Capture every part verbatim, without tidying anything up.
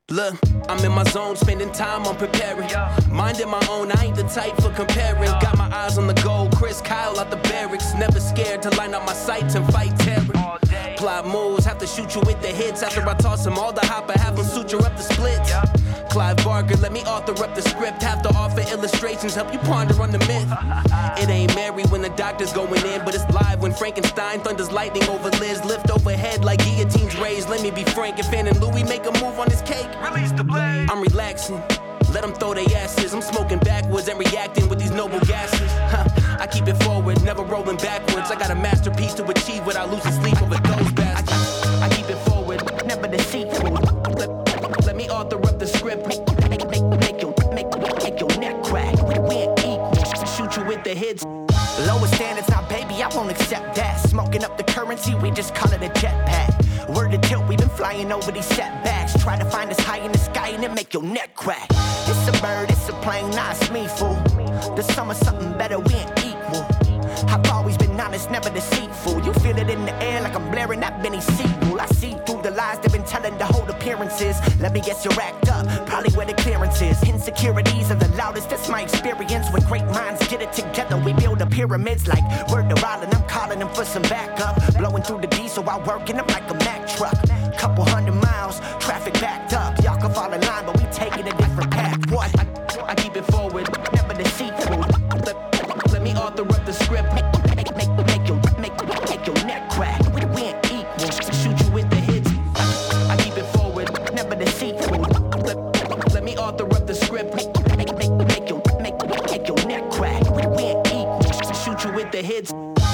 Look, I'm in my zone, spending time on preparing. Minding my own, I ain't the type for comparing. Got my eyes on the goal, Chris Kyle out the barracks. Never scared to line up my sights and fight terror. Plot moves, have to shoot you with the hits. After I toss them all the hopper, have them suture up the splits. Clive Barker, let me author up the script. Have to offer illustrations, help you ponder on the myth. It ain't Mary when the doctor's going in, but it's live when Frankenstein thunders lightning over Liz. Lift overhead like guillotines raised. Let me be Frank and Finn and Louis make a move on this cake. Release the blade. I'm relaxing, let them throw their asses. I'm smoking backwards and reacting with these noble gases. Huh. I keep it forward, never rolling backwards. I got a masterpiece to achieve without losing sleep over those bastards. I, I keep it forward, never deceitful. Let, let me author up the script. Make, make, make, make, your, make, make your neck crack. We ain't equal, shoot you with the hits. Lower standards now, baby, I won't accept that. Smoking up the currency, we just call it a jetpack. Word to tilt, we been flying over these setbacks. Try to find us high in the sky and it make your neck crack. It's a bird, it's a plane, nah, it's me, fool. The summer something better, we ain't equal. I've always been honest, never deceitful. You feel it in the air like I'm blaring that Benny Sequel. I see through the lies they've been telling to hold appearances. Let me guess you're act up, probably where the clearance is. Insecurities are the loudest, that's my experience. When great minds get it together, we build the pyramids like word to Rollin'. I'm calling them for some backup. Blowing through the diesel while working them like a Mack truck. Couple hundred miles, traffic backed up. Y'all can fall in line, but we taking a different path. What? I, I keep it forward, never deceitful. Let, let me author up the script. Make, make, make, make, your, make, make your neck crack. We, we ain't equal. Shoot you with the hits. I, I keep it forward, never deceitful. Let, let me author up the script. Make, make, make, make, your, make, make your neck crack. We, we ain't equal. Shoot you with the hits.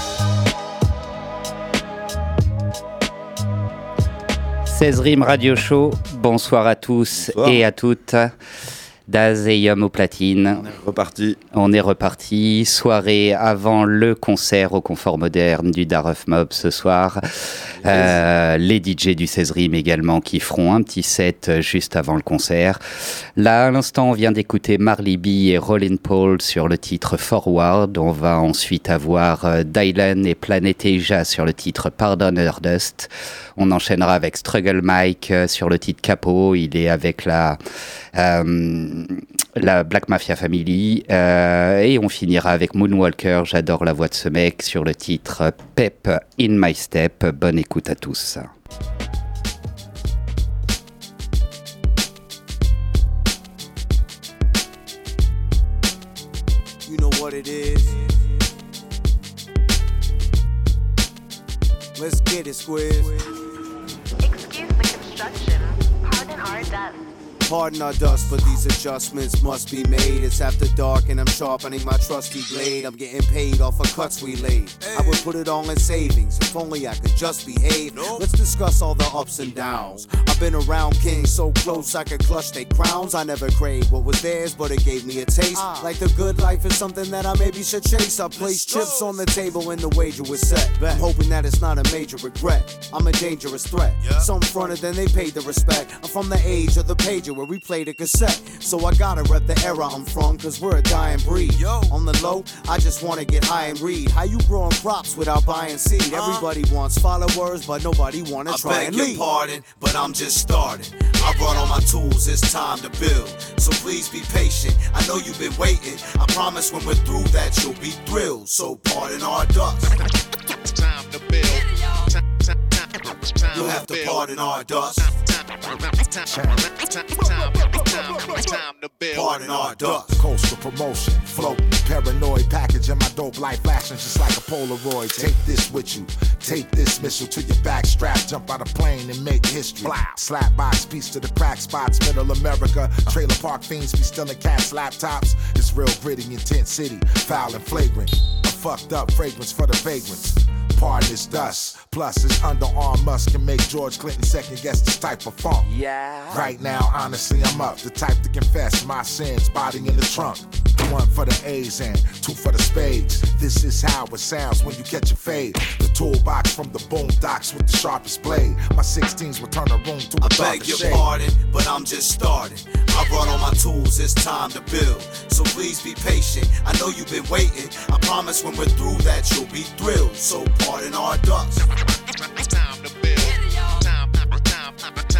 seize Rimes Radio Show, bonsoir à tous bonsoir. Et à toutes. Daz et Yom au platine. On est reparti. On est reparti. Soirée avant le concert au Confort Moderne du Darof Mob ce soir. Yes. Euh, les D J du seize Rimes également qui feront un petit set juste avant le concert. Là, à l'instant, on vient d'écouter Marley B et Rollin Paul sur le titre Forward. On va ensuite avoir Dylan et Planet Asia sur le titre Pardon Dust. On enchaînera avec Struggle Mike sur le titre Capo. Il est avec la... Euh, la Black Mafia Family euh, et on finira avec Moonwalker, j'adore la voix de ce mec, sur le titre Pep in My Step. Bonne écoute à tous. You know what it is. Let's get it, Squiz. Excuse the construction. Pardon our dust. Pardon our dust, but these adjustments must be made. It's after dark and I'm sharpening my trusty blade. I'm getting paid off of cuts we laid. I would put it all in savings, if only I could just behave. Let's discuss all the ups and downs. I've been around kings so close I could clutch their crowns. I never craved what was theirs, but it gave me a taste. Like the good life is something that I maybe should chase. I placed chips on the table and the wager was set. I'm hoping that it's not a major regret. I'm a dangerous threat. Some fronted, then they paid the respect. I'm from the age of the pager where we played a cassette. So I gotta rep the era I'm from, cause we're a dying breed. Yo. On the low, I just wanna get high and read. How you growing crops without buying seed? Uh, Everybody wants followers, but nobody wanna I try and lead. I beg your pardon, but I'm just starting. I brought all my tools, it's time to build. So please be patient, I know you've been waiting. I promise when we're through that you'll be thrilled. So pardon our dust. Time to build. You'll have to pardon our dust. Time to build. Pardon our dust. Coastal promotion, floating, paranoid, packaging my dope life flashing just like a Polaroid. Take this with you, take this missile to your back strap, jump out a plane and make history. Slap box, piece to the crack spots, middle America. Trailer park fiends be stealing cats' laptops. It's real gritty, intense city, foul and flagrant. A fucked up fragrance for the vagrants. Pardon is dust. Plus, his underarm must can make George Clinton second guess this type of funk. Yeah. Right now, honestly, I'm up. The type to confess my sins, body in the trunk. One for the A's and two for the spades. This is how it sounds when you catch a fade. The toolbox from the boondocks with the sharpest blade. My sixteens will turn a room to a I darker beg your shade. pardon, but I'm just starting. I brought all my tools, it's time to build. So please be patient, I know you've been waiting. I promise when we're through that you'll be thrilled. So pardon our dust. Time to build. Time, time, time, time.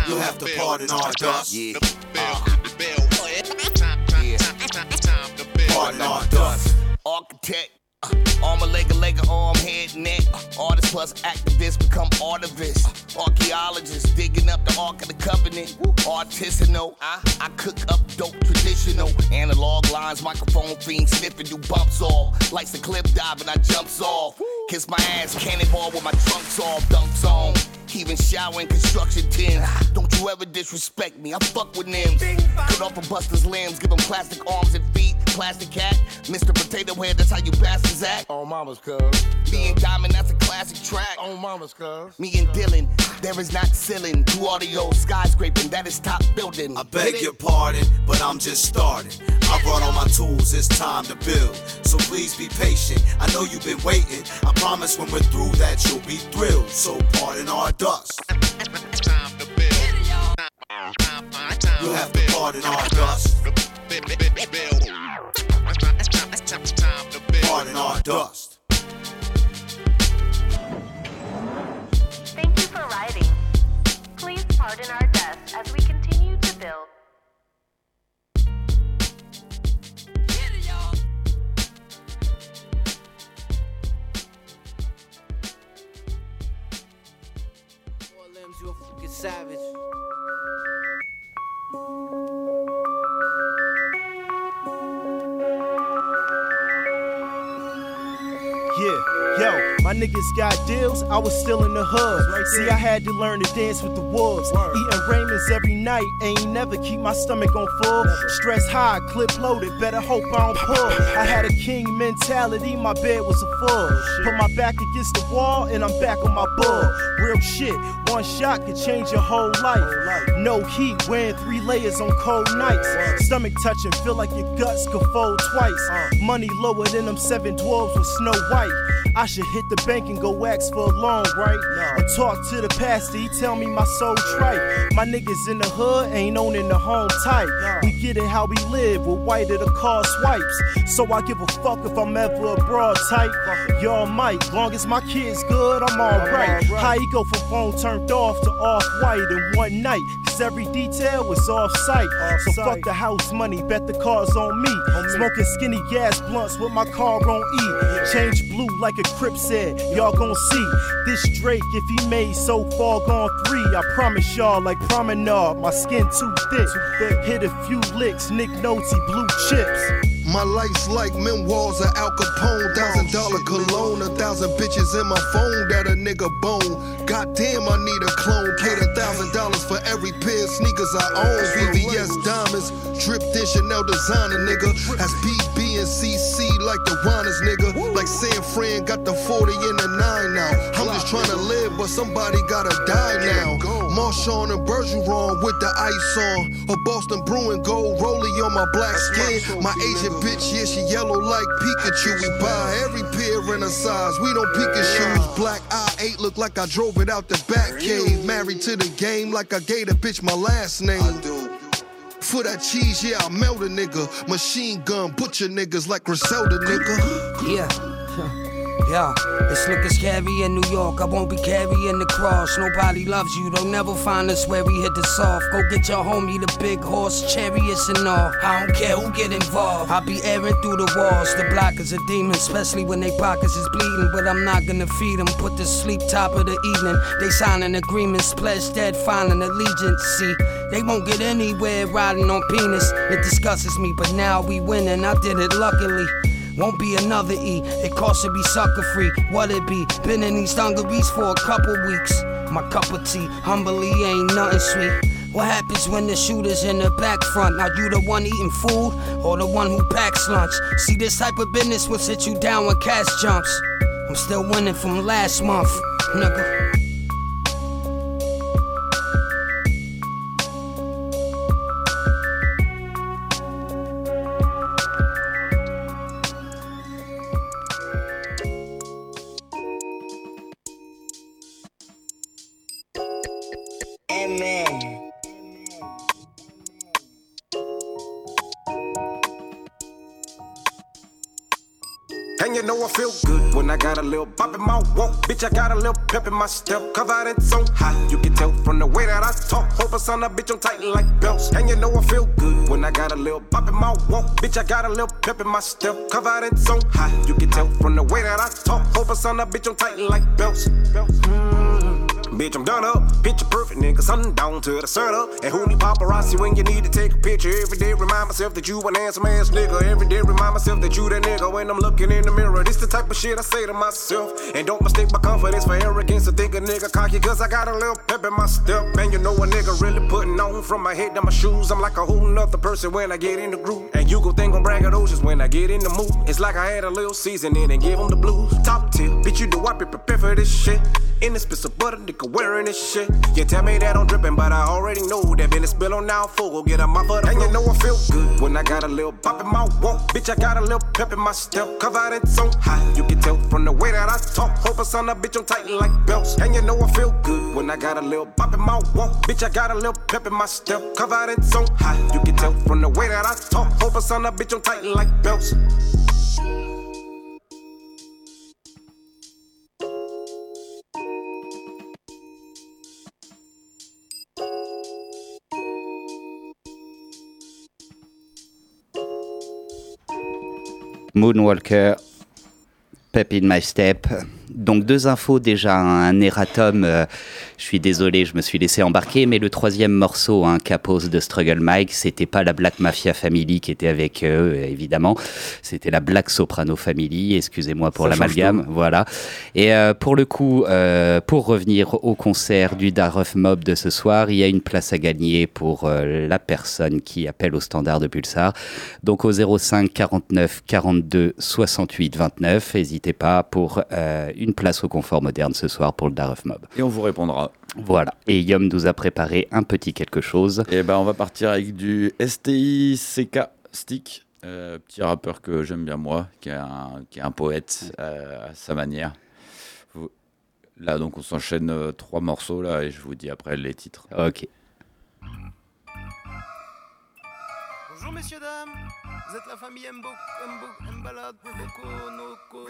time You have to pardon our dust. The bill, the bill. Time, time, time, time to build. Pardon our dust. Architect, uh, arm a leg, a leg, a arm, head, neck. Uh, artist plus activist become artivists. Uh, archaeologists digging up the Ark of the Covenant. Artisanal, I, I cook up dope traditional. Analog lines, microphone fiend, sniffing, do bumps off. Likes to clip dive and I jumps off. Kiss my ass, cannonball with my trunks off, dunks on. Even shower in construction tins. Don't you ever disrespect me, I fuck with Nims. Cut off a buster's limbs, give him plastic arms and feet. Plastic cat, Mister Potato Head, that's how you bastards act. On mama's cuz. Me and Diamond, that's a classic track. On mama's cuz. Me and Dylan, there is not ceiling. Do audio, skyscraping, that is top building. I beg your pardon, but I'm just starting. I brought all my tools, it's time to build. So please be patient, I know you've been waiting. I promise when we're through that you'll be thrilled. So pardon our dust. Time to build. Time, time, time You have to pardon our dust. build. Time to build. Pardon our dust. Thank you for writing. Please pardon our dust as we continue to build. Four limbs, you a fucking savage. Yeah, yo, my niggas got deals, I was still in the hood. Right. See, I had to learn to dance with the wolves. Word. Eating Raymond's every night, ain't never keep my stomach on full. Never. Stress high, clip loaded, better hope I don't pull. I had a king mentality, my bed was a full. Put my back against the wall, and I'm back on my bull. Real shit, one shot could change your whole life. No heat, wearing three layers on cold nights. Stomach touching, feel like your guts could fold twice. Money lower than them seven dwarves with Snow White. I should hit the bank and go ask for a loan, right? No. Or talk to the pastor, he tell me my soul trite. My niggas in the hood ain't owning the home type. No. We get it how we live, with white of the car swipes. So I give a fuck if I'm ever a broad type. Y'all might, long as my kid's good, I'm alright. All how he go from phone turned off to off-white in one night? Cause every detail was off-site. Off so fuck the house money, bet the car's on me. On Smoking me. Skinny gas blunts with my car on E. Change blue like a Crip said, y'all gon' see. This Drake, if he made so far gone three, I promise y'all like promenade, my skin too thick. Too thick. Hit a few licks, Nick Nolte, blue chips. My life's like memoirs of Al Capone. Thousand dollar cologne, a thousand bitches in my phone that a nigga bone. Goddamn, I need a clone. Paid a thousand dollars for every pair of sneakers I own. V V S diamonds, dripped in Chanel designer, nigga. That's B B and C C like the Juanas, nigga. Like San Fran got the forty and the nine now. I'm just trying to live, but somebody gotta die now. Marshawn and Bergeron with the ice on. A Boston Bruin gold rollie on my black skin. My Asian bitch, yeah, she yellow like Pikachu. We buy every pair in a size, we don't peek at shoes. Black I eight look like I drove it out the back cave. Married to the game like I gave a bitch my last name. For that cheese, yeah, I melt a nigga. Machine gun, butcher niggas like Griselda, nigga. Yeah. Yeah, this look is scary in New York. I won't be carrying the cross. Nobody loves you, they'll never find us where we hit the soft. Go get your homie the big horse, chariots and all. I don't care who get involved. I'll be airing through the walls. The block is a demon, especially when they pockets is bleeding. But I'm not gonna feed them. Put to sleep top of the evening. They signing agreements, pledge dead, filing allegiance. See, they won't get anywhere riding on penis. It disgustes me, but now we winning. I did it luckily. Won't be another E, it costs to be sucker free. What it be? Been in these dungarees for a couple weeks. My cup of tea, humbly ain't nothing sweet. What happens when the shooter's in the back front? Now you the one eating food, or the one who packs lunch? See, this type of business will sit you down when cash jumps. I'm still winning from last month, nigga. Hang And you know I feel good when I got a little pop in my walk. Bitch, I got a little pep in my step. Cause I done so hot, you can tell from the way that I talk. Hope I son a bitch on tight like belts. And you know I feel good when I got a little pop in my walk. Bitch, I got a little pep in my step. Cause I done so hot, you can tell from the way that I talk. Hope I son a bitch on tight like belts. Mm. Bitch, I'm done up, picture perfect, nigga, sundown to the setup. And who need paparazzi when you need to take a picture? Every day remind myself that you an handsome ass nigga. Every day remind myself that you that nigga. When I'm looking in the mirror, this the type of shit I say to myself. And don't mistake my confidence for arrogance. I think a nigga cocky cause I got a little pep in my step. And you know a nigga really putting on from my head to my shoes. I'm like a whole nother person when I get in the groove. And you go think I'm braggadocious when I get in the mood. It's like I had a little seasoning and give them the blues. Top tier, bitch, you know I be prepared for this shit. In the spill of butter, nigga wearing this shit. You tell me that I'm dripping, but I already know that been a spill on now full. Go get a mop for the and you know I feel good when I got a little pop in my walk. Bitch, I got a little pep in my step. Cause I done so hot, you can tell from the way that I talk. Hope I son a bitch on tight like belts. And you know I feel good when I got a little pop in my walk. Bitch, I got a little pep in my step. Cause I done so hot, you can tell from the way that I talk. Hope I son a bitch on tight like belts. Moonwalker, Pep in My Step. Donc deux infos, déjà un erratum, euh, je suis désolé, je me suis laissé embarquer, mais le troisième morceau, hein, Capos de Struggle Mike, c'était pas la Black Mafia Family qui était avec eux, évidemment, c'était la Black Soprano Family, excusez-moi pour l'amalgame, voilà. Et euh, pour le coup, euh, pour revenir au concert du Darof Mob de ce soir, il y a une place à gagner pour euh, la personne qui appelle au standard de Pulsar, donc au zéro cinq quarante-neuf quarante-deux soixante-huit vingt-neuf, n'hésitez pas pour euh, une place au confort moderne ce soir pour le Darof Mob. Et on vous répondra. Voilà, et Yom nous a préparé un petit quelque chose. Et ben on va partir avec du S T I C K Stick, euh, petit rappeur que j'aime bien moi, qui est un, qui est un poète euh, à sa manière. Vous... Là donc on s'enchaîne euh, trois morceaux là et je vous dis après les titres. Ok. Bonjour messieurs dames, vous êtes la famille Mbo, Mbo, Mbalade, Boko, Noko.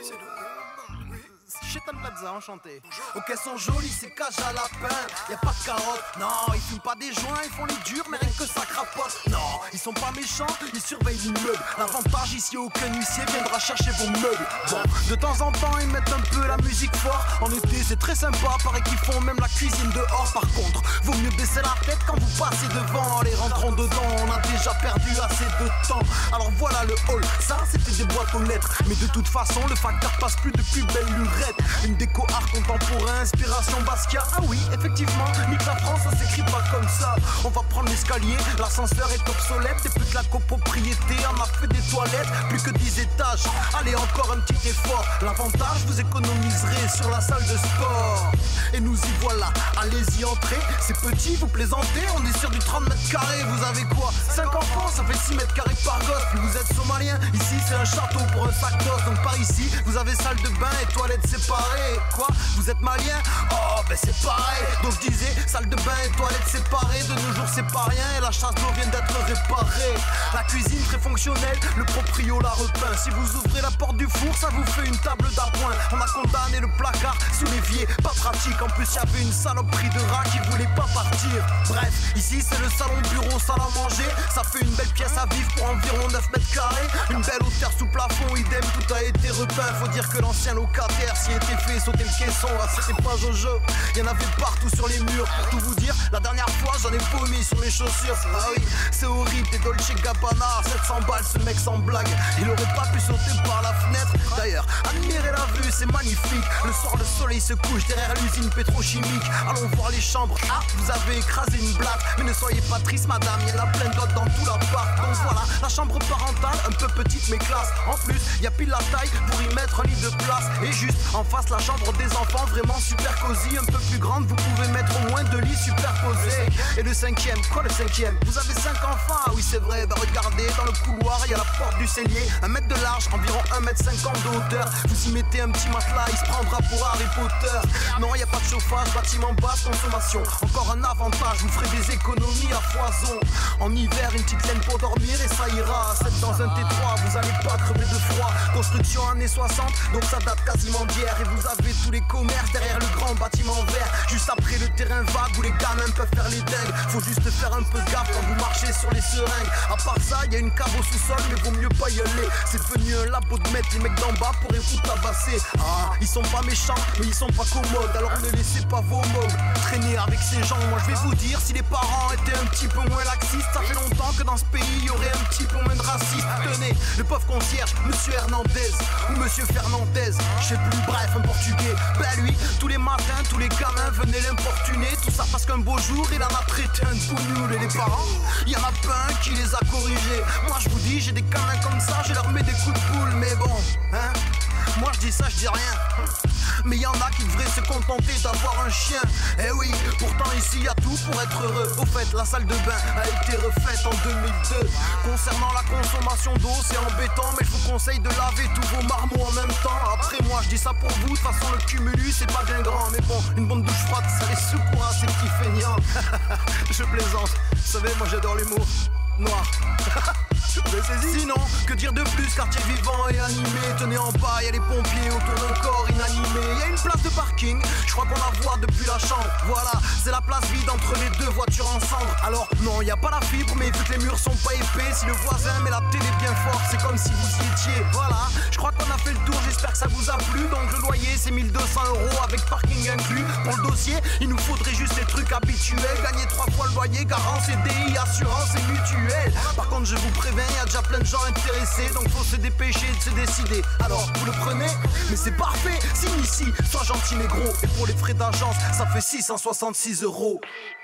Chetan Plaza, enchanté. Ok, sont jolis, c'est cage à lapin. Y'a pas de carottes, non, ils fument pas des joints, ils font les durs, mais rien que ça crapote. Non, ils sont pas méchants, ils surveillent l'immeuble. L'avantage ici, aucun huissier viendra chercher vos meubles. Bon, de temps en temps, ils mettent un peu la musique fort. En été, c'est très sympa, paraît qu'ils font même la cuisine dehors. Par contre, vaut mieux baisser la tête quand vous passez devant. Les rentrons dedans, on a déjà perdu assez de temps. Alors voilà le hall, ça c'était des boîtes aux lettres. Mais de toute façon, le facteur passe plus de plus belle lurette. Une déco art contemporain, inspiration Basquiat. Ah oui, effectivement, nique la France, ça s'écrit pas comme ça. On va prendre l'escalier, l'ascenseur est obsolète. Et plus que la copropriété, on a fait des toilettes. Plus que dix étages, allez encore un petit effort. L'avantage, vous économiserez sur la salle de sport. Et nous y voilà, allez-y entrez. C'est petit, vous plaisantez, on est sur du trente mètres carrés. Vous avez quoi, cinq enfants, ça fait six mètres carrés par gosse. Puis vous êtes somalien, ici c'est un château pour un sac d'os. Donc par ici, vous avez salle de bain et toilettes séparées. Quoi, vous êtes malien? Oh ben c'est pareil. Donc je disais, salle de bain et toilettes séparées. De nos jours c'est pas rien et la chasse d'eau vient d'être réparée. La cuisine très fonctionnelle, le proprio la repeint. Si vous ouvrez la porte du four, ça vous fait une table d'appoint. On a condamné le placard sous l'évier, pas pratique. En plus y'avait une saloperie de rat qui voulait pas partir. Bref, ici c'est le salon bureau, salle à manger. Ça fait une belle pièce à vivre pour environ neuf mètres carrés. Une belle hauteur sous plafond, idem, tout a été repeint. Faut dire que l'ancien locataire s'y était fait sauter le caisson. Ah, c'était pas Jojo, y'en avait partout sur les murs. Pour tout vous dire, la dernière fois j'en ai vomi sur mes chaussures. Ah oui, c'est horrible, des Dolce Gabbana, sept cents balles, ce mec sans blague. Il aurait pas pu sauter par la fenêtre. D'ailleurs, admirez la vue, c'est magnifique. Le soir, le soleil se couche derrière l'usine pétrochimique. Allons voir les chambres. Ah, vous avez écrasé une blague. Mais ne soyez pas triste, madame, y'en a plein d'autres dans tout l'appart. Donc voilà, la chambre parentale, un peu petite mais classe. En plus, y a pile la taille pour y mettre un lit de place. Et juste en face, la chambre des enfants, vraiment super cosy. Un peu plus grande, vous pouvez mettre au moins deux lits superposés. Et le cinquième, quoi le cinquième? Vous avez cinq enfants? Ah oui, c'est vrai, bah regardez, dans le couloir, il y a la porte du cellier. Un mètre de large, environ un mètre cinquante de hauteur. Vous y mettez un petit matelas, il se prendra pour Harry Potter. Non, y a pas de chauffage, bâtiment basse consommation. Encore un avantage, vous ferez des économies à foison. En hiver, une petite laine pour dormir et ça ira. C'est dans un T trois, vous allez pas crever de froid. Construction années soixante, donc ça date quasiment d'hier. Et vous avez tous les commerces derrière le grand bâtiment vert. Juste après le terrain vague où les gamins peuvent faire les dingues. Faut juste faire un peu gaffe quand vous marchez sur les seringues. À part ça, y a une cave au sous-sol, mais vaut mieux pas y aller. C'est devenu un labo de mettre les mecs d'en bas pourraient vous tabasser. Ah, ils sont pas méchants, mais ils sont pas commodes. Alors ne laissez pas vos mots traîner avec ces gens. Moi je vais vous dire, si les parents étaient un petit peu moins laxistes, ça fait longtemps que dans ce pays y aurait un petit peu moins de racistes. Tenez, le pauvre concierge, monsieur Hernandez ou monsieur Fernandez, je sais plus, bref, un portugais. Ben lui, tous les matins, tous les gamins venaient l'importuner. Tout ça parce qu'un beau jour, il en a traité un de tout nul. Et les parents, y en a pas un qui les a corrigés. Moi je vous dis, j'ai des gamins comme ça, je leur mets des coups de boule. Mais bon, hein, moi je dis ça, je dis rien. Mais y en a qui devraient se contenter d'avoir un chien. Eh oui, pourtant ici y a tout pour être heureux. Au fait, la salle de bain a été refaite en deux mille deux. Concernant la consommation d'eau, c'est embêtant, mais je vous conseille de laver tous vos marmots en même temps. Après moi, je dis ça pour vous, de toute façon le cumulus c'est pas bien grand. Mais bon, une bonne douche froide, ça les secours à ces petits feignants. Je plaisante, vous savez, moi j'adore l'humour noir. Sinon, que dire de plus, quartier vivant et animé. Tenez en bas, y'a les pompiers autour d'un corps inanimé. Y'a une place de parking, je crois qu'on la voit depuis la chambre. Voilà, c'est la place vide entre les deux voitures en cendres. Alors non, y a pas la fibre, mais vu que les murs sont pas épais, si le voisin met la télé bien fort, c'est comme si vous y étiez. Voilà, je crois qu'on a fait le tour, j'espère que ça vous a plu. Donc le loyer c'est mille deux cents euros avec parking inclus. Pour le dossier, il nous faudrait juste les trucs habituels. Gagner trois fois le loyer, garant, C D I, assurance et mutuelle. Par contre je vous préviens, y a déjà plein de gens intéressés, donc faut se dépêcher de se décider. Alors vous le prenez, mais c'est parfait. Signe ici, sois gentil négro. Et pour les frais d'agence, ça fait six cent soixante-six euros.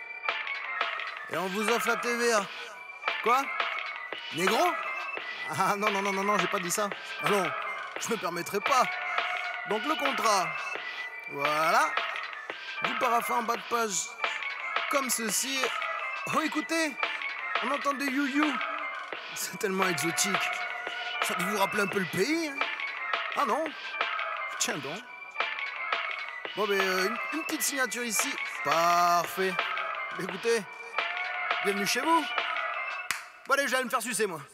Et on vous offre la T V A. Quoi? Négro? Ah non non non non non, j'ai pas dit ça. Ah non, je me permettrai pas. Donc le contrat, voilà. Vous paraffez en bas de page comme ceci. Oh écoutez, on entend des you-you. C'est tellement exotique. Ça doit vous rappeler un peu le pays, hein? Ah non? Tiens donc. Bon ben euh, une, une petite signature ici. Parfait. Écoutez, bienvenue chez vous. Bon allez, je vais aller me faire sucer moi.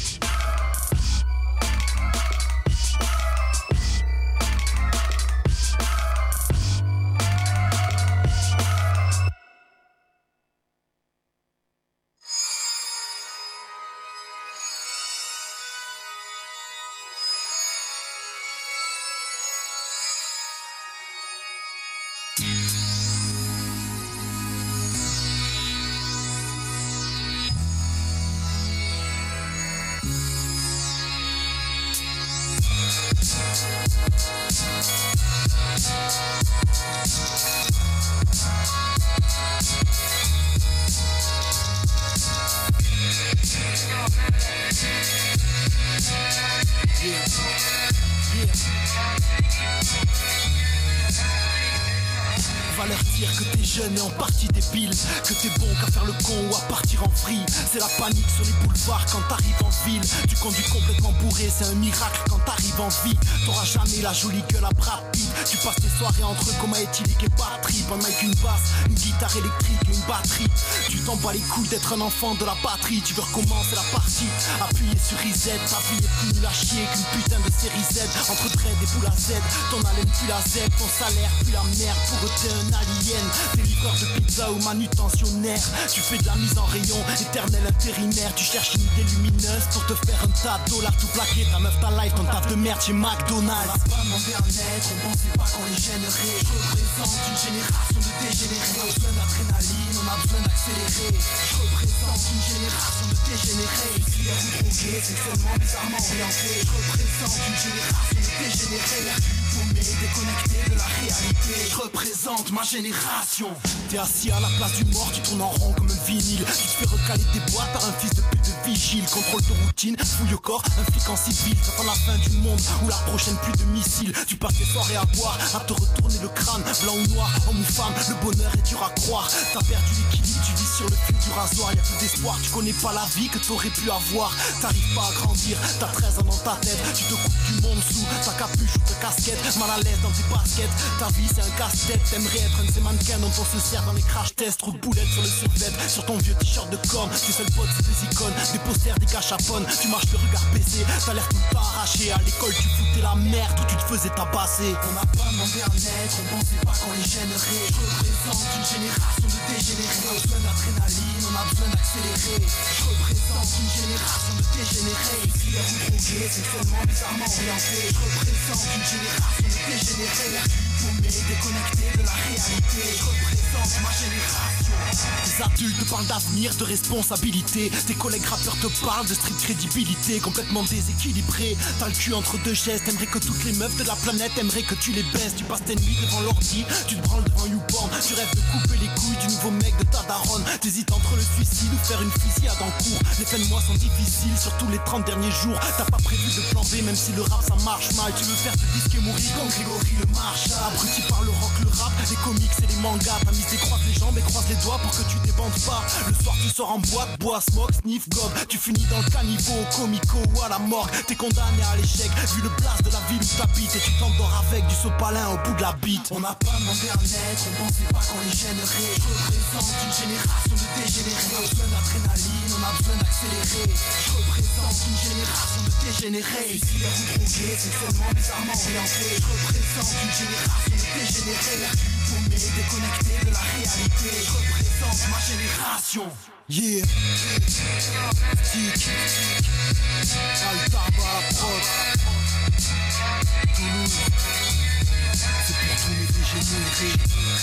jeune et en partie débile, que t'es bon qu'à faire le con ou à partir en free. C'est la panique sur les boulevards quand t'arrives en ville. Tu conduis complètement bourré, c'est un miracle quand t'arrives en vie. T'auras jamais la jolie gueule à Brad Pitt. Tu passes tes soirées entre coma éthylique et batterie. Un mic, une basse, une guitare électrique et une batterie. Tu t'en bats les couilles d'être un enfant de la batterie. Tu veux recommencer la partie, appuyer sur reset. Ta vie est plus nulle à chier qu'une putain de série Z. Entre dread et boule à Z, ton haleine puis la Z. Ton salaire puis la merde, pour eux t'es un alien. T'es livreur de pizza ou manutentionnaire. Tu fais de la mise en rayon, éternel intérimaire. Tu cherches une idée lumineuse pour te faire un tas de dollars tout plaqué. Ta meuf, ta life, ton taf de merde chez McDonald's. On va pas demander à naître, on pensait pas qu'on les gênerait. Je représente une génération de dégénérés. On a besoin d'adrénaline, on a besoin d'accélérer. Je représente une génération de dégénérés. Filière ou drogués, sexuellement bizarrement orientés. Je représente une génération de dégénérés. paumé, déconnecté de la réalité. Je représente ma génération. T'es assis à la place du mort, tu tournes en rond comme un vinyle. Tu te fais recaler des boîtes par un fils de pute de vigile. Contrôle de routine, fouille au corps, un flic en civil. T'attends la fin du monde ou la prochaine pluie de missiles. Tu passes tes soirées à boire, à te retourner le crâne. Blanc ou noir, homme ou femme, le bonheur est dur à croire. T'as perdu l'équilibre, tu vis sur le fil du rasoir. Y'a plus d'espoir, tu connais pas la vie que t'aurais pu avoir. T'arrives pas à grandir, t'as treize ans dans ta tête. Tu te coupes du monde sous ta capuche ou ta casquette. Mal à l'aise dans tes baskets, ta vie c'est un casse-tête. T'aimerais être un de ces mannequins dont on se sert dans les crash tests. Trou de boulettes sur le survêt, sur ton vieux t-shirt de corne. Tes seuls potes c'est des icônes, des posters, des cachapones. Tu marches le regard baissé, t'as l'air tout le temps arraché. À l'école tu foutais la merde ou tu te faisais tabasser. On n'a pas demandé à naître, on pensait pas qu'on les gênerait. Je représente une génération de dégénérés. On a besoin d'adrénaline, on a besoin d'accélérer. Je représente une génération de dégénérés. Ici les roues droguées, sexuellement bizarrement orientés. Je représente une génération de dégénérés. Paumé, déconnecté de la réalité. Je représente ma génération. Les adultes te parlent d'avenir, de responsabilité. Tes collègues rappeurs te parlent de street crédibilité. Complètement déséquilibré, t'as le cul entre deux gestes. T'aimerais que toutes les meufs de la planète aimeraient que tu les baisses. Tu passes tes nuits devant l'ordi, tu te branles devant YouPorn. Tu rêves de couper les couilles du nouveau mec de ta daronne. T'hésites entre le suicide ou faire une fusillade en cours. Les fins de mois sont difficiles, surtout les trente derniers jours. T'as pas prévu de plan B, même si le rap ça marche mal. Tu veux faire te disque et mourir comme Grégory le Marshall. Abruti par le rock, le rap, les comics et les mangas. T'as mis des croises les jambes et croise les doigts pour que tu débandes pas. Le soir tu sors en boîte, bois, smoke, sniff, gob. Tu finis dans le caniveau, comico ou à la morgue. T'es condamné à l'échec, vu le blast de la ville où t'habites. Et tu t'endors avec du sopalin au bout de la bite. On n'a pas demandé à naître, on pensait pas qu'on les gênerait. Je représente une génération de dégénérés. On a besoin d'adrénaline, on a besoin d'accélérer. Je représente une génération de dégénérés. Ici les roues droguées, sexuellement bizarrement orientés. Je représente une génération de dégénérés. Paumé, déconnecté de la réalité. Je représente ma génération. Yeah. Tic. Altaba à la prod. Toulouse. C'est pour tous les dégénérés.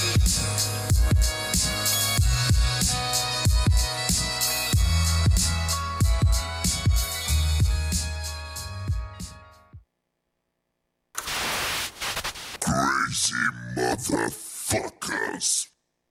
Crazy motherfuckers.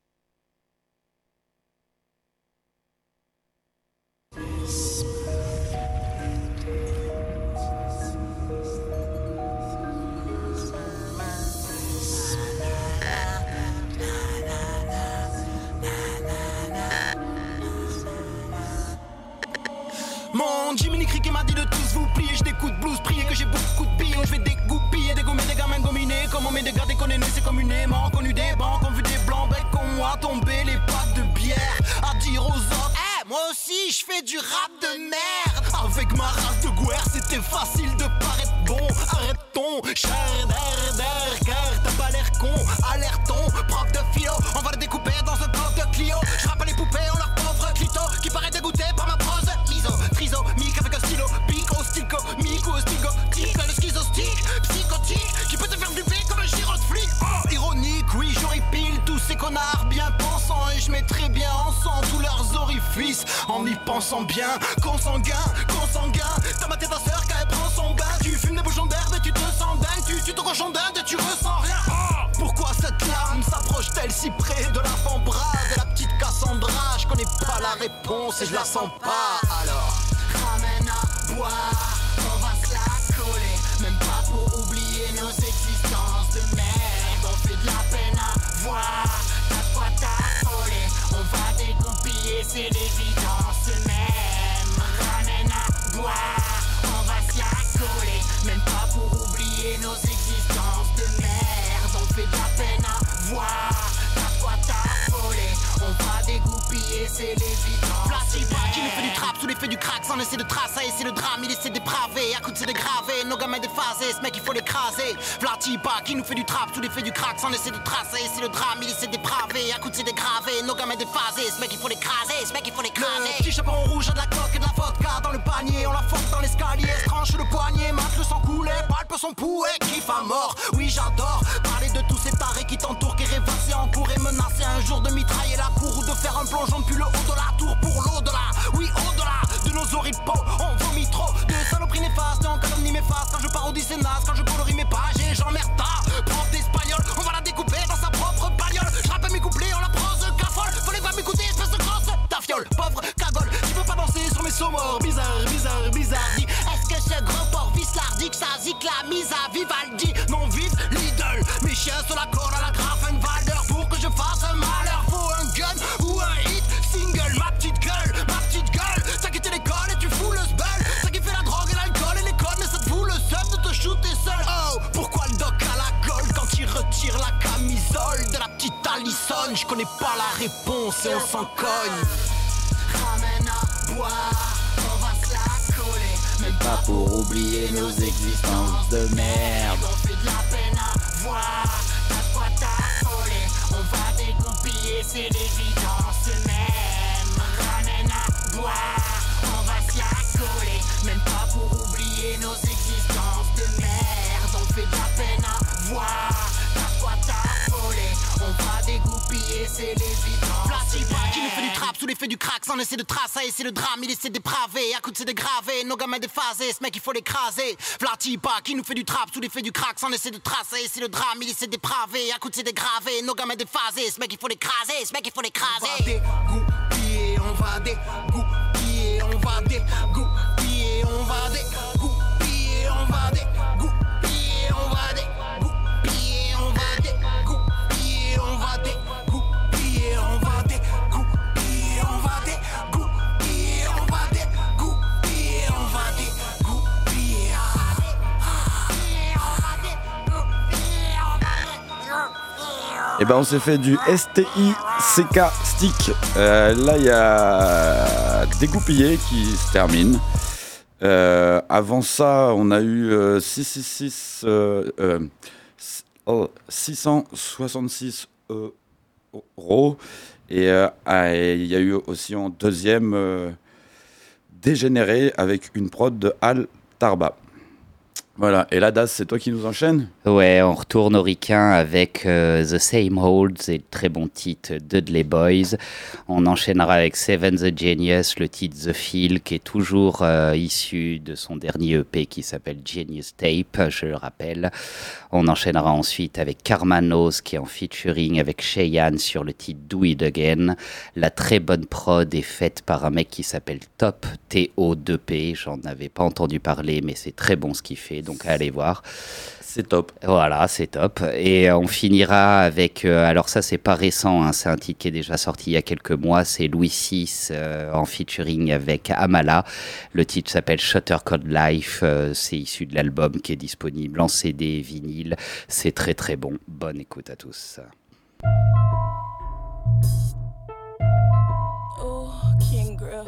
Mon Jiminy Cricket m'a dit de tous vous plier. J'ai des coups de blues, prier que j'ai beaucoup de billes. Je vais dégoupiller, dégommer des gamins gominés. Comme on met des gars déconnés, c'est communément connu des banques. On vu des blancs becs comme moi tomber les pattes de bière. À dire aux autres, eh, hey, moi aussi je fais du rap de merde. Avec ma race de guerre, c'était facile de paraître bon. Arrête-ton, cher d'air, d'air, car t'as pas l'air con. Alerton, prof de philo, on va le découper dans un bloc de Clio. Je rappelle les poupées, on leur pauvre clito qui paraît dégoûté par ma prose. Liso, triso, mic avec un stylo, pico, stilco, mico, stigo, tic, le schizostique, psychotique, qui peut te faire duper comme un giro de flic. Oh, ironique, oui, j'horripile tous ces connards bien pensants. Et je mettrai bien en sang tous leurs orifices. En y pensant bien, consanguin, consanguin. T'as maté ta sœur quand elle prend son bain. Tu fumes des bouchons d'herbe et tu te sens dingue. Tu tues ton cochon d'Inde et tu ressens rien. Oh, pourquoi cette larme s'approche-t-elle si près de l'avant-bras de la petite Cassandra? Je connais pas la réponse et je la sens pas. Alors, ramène à boire, on va se la coller. Même pas pour oublier nos existences de merde. On fait de la peine à voir. T'as quoi t'affoler? On va dégoupiller, c'est l'évidence même. Ramène à boire, on va se la coller. Même pas pour oublier nos existences de merde. On fait de la peine à voir. T'as quoi t'affoler? On va dégoupiller, c'est l'évidence. Placebo qui nous fait du trap sous l'effet du crack sans essayer de tracer. C'est le drame, il essaie de dépraver. À coup de c'est dégravé, nos gamins déphasés. Ce mec il faut l'écraser. Vlatipa qui nous fait du trap sous l'effet du crack sans essayer de tracer. C'est le drame, il essaie de dépraver. À coup de c'est dégravé, nos gamins déphasés. Ce mec il faut l'écraser, ce mec il faut l'écraser. Le petit chaperon rouge a de la coque et de la vodka dans le panier. On la force dans l'escalier, se tranche le poignet, mate le sang couler, palpe son pouet, kiffe à mort. Oui j'adore parler de tous ces tarés qui t'entourent, qui rêvassent en cours et menacer un jour de mitrailler la cour ou de faire un plongeon depuis le haut de la tour pour l'au-delà. Oui au-delà de nos horribles peaux, on vomit trop de saloperies néfastes, en calomnie mes faces. Quand je parodie c'est naze, quand je colorie mes pages et j'emmerde ta Zazie, la mise à Vivaldi, non vive Lidl. Mes chiens sur la corde à la Grafenwalder. Pour que je fasse un malheur, faut un gun ou un hit single. Ma petite gueule, ma petite gueule. Ça qui te l'école et tu fous le sbel. Ça qui fait la drogue et l'alcool et les codes. Mais ça te fout le seum de te shooter seul. Oh, pourquoi le doc à la gueule quand il retire la camisole de la petite Allison? Je connais pas la réponse et on s'en cogne. Ramène à boire, on va se la coller. Même pas pour oublier nos existences de merde. On fait de la peine à voir, t'as de quoi t'affoler. On va dégoupiller, c'est l'évidence même. Ramène à boire, on va se la coller. Même pas pour oublier nos existences de merde. On fait de la peine à voir, t'as de quoi t'affoler. On va dégoupiller, c'est l'évidence. Qui nous fait du trap sous l'effet du crack sans essayer de tracer, c'est le drame, il essaie de dépraver, à coup de c'est dégravé, nos gamins déphasés, ce mec il faut l'écraser. Vlatipa qui nous fait du trap sous l'effet du crack sans essayer de tracer, c'est le drame, il essaie de dépraver, à coup de c'est dégravé, nos gamins déphasés, ce mec il faut l'écraser, ce mec il faut l'écraser. On va dégoupiller, on va dégoupiller, on va dégoupiller, on va dégoupiller, on va dégoupiller, on va dégoupiller, on va dégoupiller, on va dégoupiller, on va dégoupiller, on va dégoupiller, on va dégoupiller, on va dégoupiller. Et ben on s'est fait du S T I C K Stick. Euh, là il y a Dégoupillé qui se termine. Euh, avant ça on a eu euh, six cent soixante-six euh, euh, oh, six cent soixante-six euros et euh, il y a eu aussi en deuxième euh, Dégénéré avec une prod de Al Tarba. Voilà, et là, Das, c'est toi qui nous enchaînes ? Ouais, on retourne au ricain avec euh, The Same Holds et le très bon titre Dudley Boys. On enchaînera avec Seven the Genius, le titre The Feel, qui est toujours euh, issu de son dernier E P qui s'appelle Genius Tape, je le rappelle. On enchaînera ensuite avec Karmanos, qui est en featuring avec Cheyenne sur le titre Do It Again. La très bonne prod est faite par un mec qui s'appelle Top, T O deux P. J'en avais pas entendu parler, mais c'est très bon ce qu'il fait. Donc allez voir. C'est top. Voilà, c'est top. Et on finira avec... Euh, alors ça, c'est pas récent, hein, c'est un titre qui est déjà sorti il y a quelques mois. C'est Louis six euh, en featuring avec Amala. Le titre s'appelle Shutter Code Life. Euh, c'est issu de l'album qui est disponible en C D, vinyle. C'est très très bon. Bonne écoute à tous. Oh, King Griff.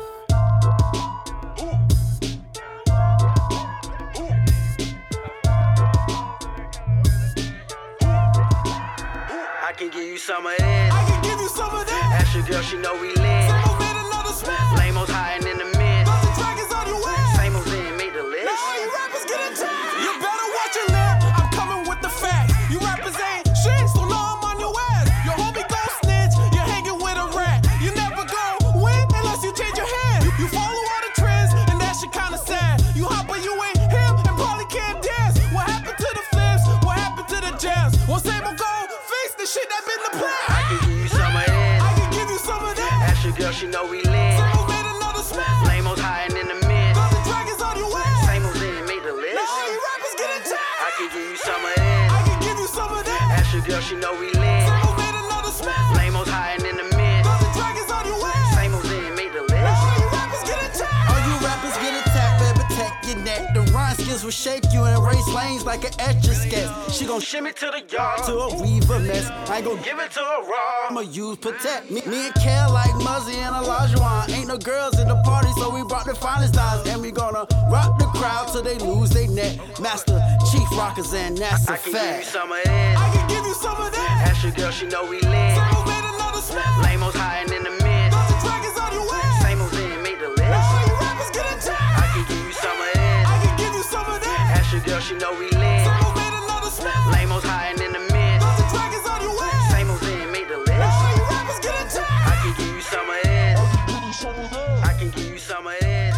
I can give you some of this. I can give you some of that. Ask your girl, she know we lit. Same made another smash. Lame-o's hiding in the mist. Nothing dragons on your way. Same old didn't make the list. Now all you rappers get attacked. You better watch your lip. I'm coming with the facts. You rappers ain't shit, so know I'm on your ass. Your homie gon' snitch. You're hanging with a rat. You never go win unless you change your hand. You follow all the trends, and that shit kinda sad. You hot, but you ain't him, and probably can't dance. What happened to the flips? What happened to the jams? Well, same old go. Shit that been the plan. I can give you some of this. I can give you some of that. Ask your girl, she know we lit. Same old made another smash. Lame-o's hiding in the mist. Nothing dragons on your way. Same old didn't make the list. Now all you rappers get attacked. I can give you some of this. I can give you some of that. Ask your girl, she know we lit. Same old made another smash. Lame-o's hiding in the mist. Nothing dragons on your way. Same old didn't make the list. Now all you rappers get attacked. All you rappers get attacked, better protect your neck. The rhyme skills will shake you and erase lanes like an etch-a-sketch. She gon' shimmy to the yard to a weaver mess. I ain't gon' give it to her raw. I'ma use protect. Me, me and Kel like Muzzy and Olajuwon. Ain't no girls in the party, so we brought the finest dives. And we gonna rock the crowd till they lose their neck. Master, Chief Rockers, and that's a fact. I can give you some of this. I can give you some of that. Ask your girl, she know we lit. Same old made another smash. Lame-o's hiding in the mist. Nothing dragons on your way. Same old didn't make the list. Now all you rappers get attacked. I can give you some of this. I can give you some of that. Ask your girl, she know we lit. Same old made another smash. Lame-o's hiding in the mist. Nothing dragons on your way. Same old didn't make the list. Now all you rappers get attacked. I can give you some of this. I can give you some of this.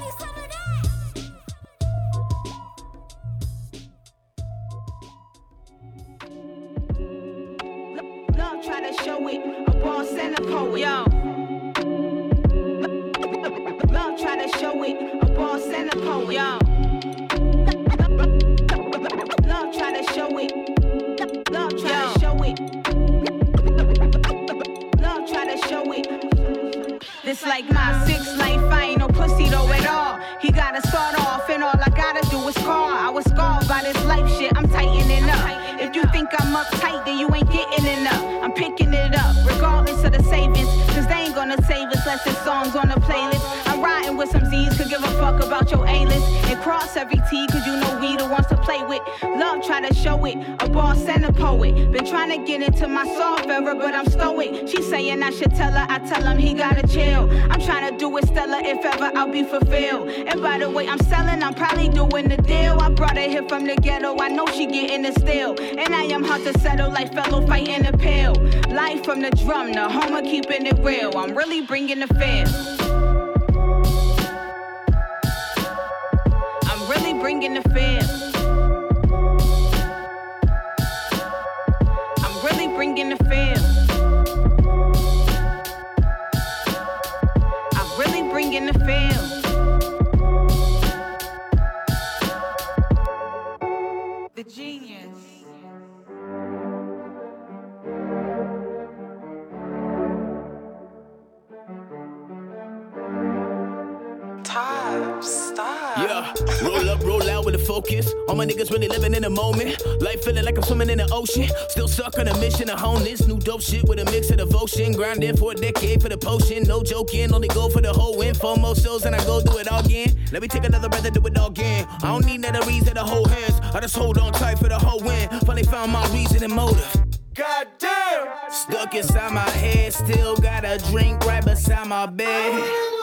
Love try to show it, a boss and a poet. Yo. Love try to show it, a boss and a poet. Yo. picking it up, regardless of the savings. Cause they ain't gonna save us less than songs on the playlist. I'm riding with some Z's, could give a fuck about your A-list. And cross every T, cause you know we the ones to play with. Love try to show it, a boss and a poet. Been trying to get into my soft era, but I'm stoic. She saying I should tell her, I tell him he gotta chill. I'm trying to do it stellar, if ever I'll be fulfilled. And by the way, I'm selling, I'm probably doing the deal. I brought her here from the ghetto, I know she getting it still. And I am hard to settle like fellow fighting the pill. Life from the drum, the homer keeping it real. I'm really bringing the feel. I'm really bringing the feel. I'm really bringing the feel. I'm really bringing the feel. The genius. Stop. Yeah, roll up, roll out with a focus. All my niggas really living in the moment. Life feeling like I'm swimming in the ocean. Still stuck on a mission to hone this new dope shit with a mix of devotion. Grinding for a decade for the potion. No joking, only go for the whole win. Four more shows and I go do it all again. Let me take another breath and do it all again. I don't need none of reason to hold hands. I just hold on tight for the whole win. Finally found my reason and motive. Goddamn! Stuck inside my head, still got a drink right beside my bed.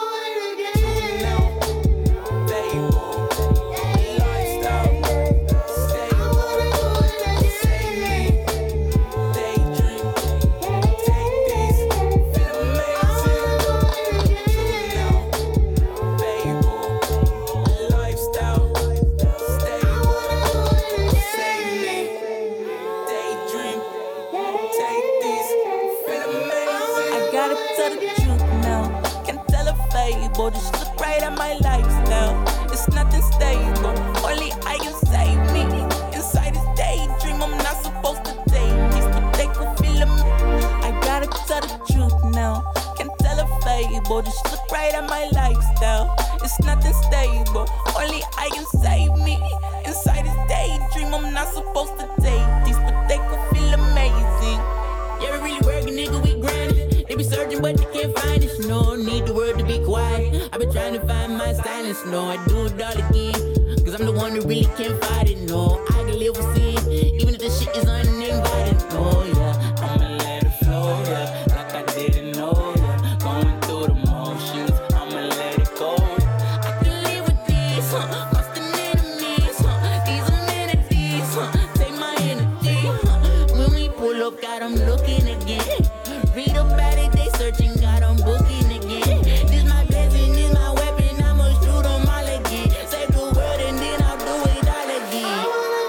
Boy, just look right at my lifestyle. It's nothing stable. Only I can save me. Inside this daydream, I'm not supposed to take these, but they can feel them. I gotta tell the truth now. Can't tell a fable. Just look right at my lifestyle. It's nothing stable. Only I can save me. Inside this daydream, I'm not supposed to take these, but they can feel amazing. Yeah, we really working, nigga, we grinding. They be searching, but they can't find us. No need the word to be quiet. I've been trying to find my silence. No, I do it all again. Cause I'm the one who really can't fight it. No, I can live with sin, even if the shit is uninvited. Oh yeah, I'ma let it flow, yeah. Like I didn't know, yeah. Going through the motions, I'ma let it go. I can live with this, huh? Constant enemies, huh? These amenities, huh? Take my energy, huh? When we pull up, got them looking again. Read about it, they searching, got them booking again. This my blessing, this my weapon, I'ma shoot them all again. Save the world and then I'll do it all again.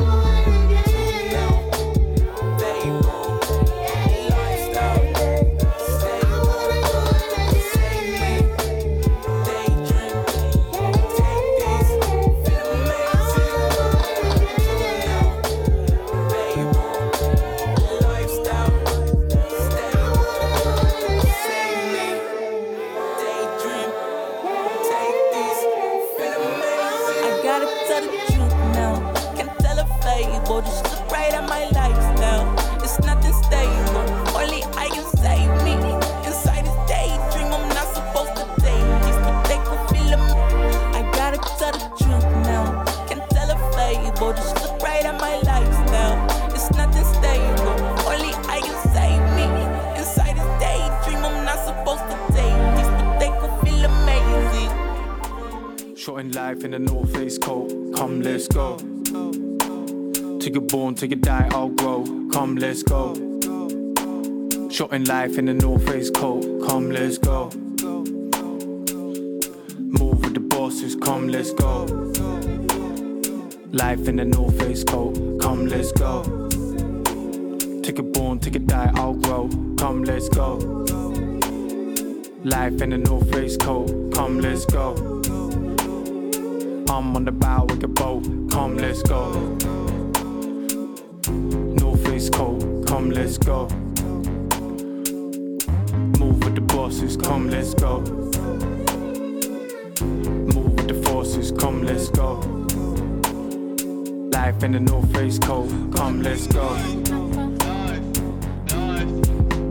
Life in the North Face coat, come let's go. Till you're born, till you die, I'll grow. Come let's go. Short in life in the North Face coat, come let's go. Move with the bosses, come let's go. Life in the North Face coat, come let's go. Till you're born, till you die, I'll grow. Come let's go. Life in the North Face coat, come let's go. I'm on the bow with a boat, come let's go. North Face coat, come let's go. Move with the bosses, come let's go. Move with the forces, come let's go. Life in the North Face coat, come let's go.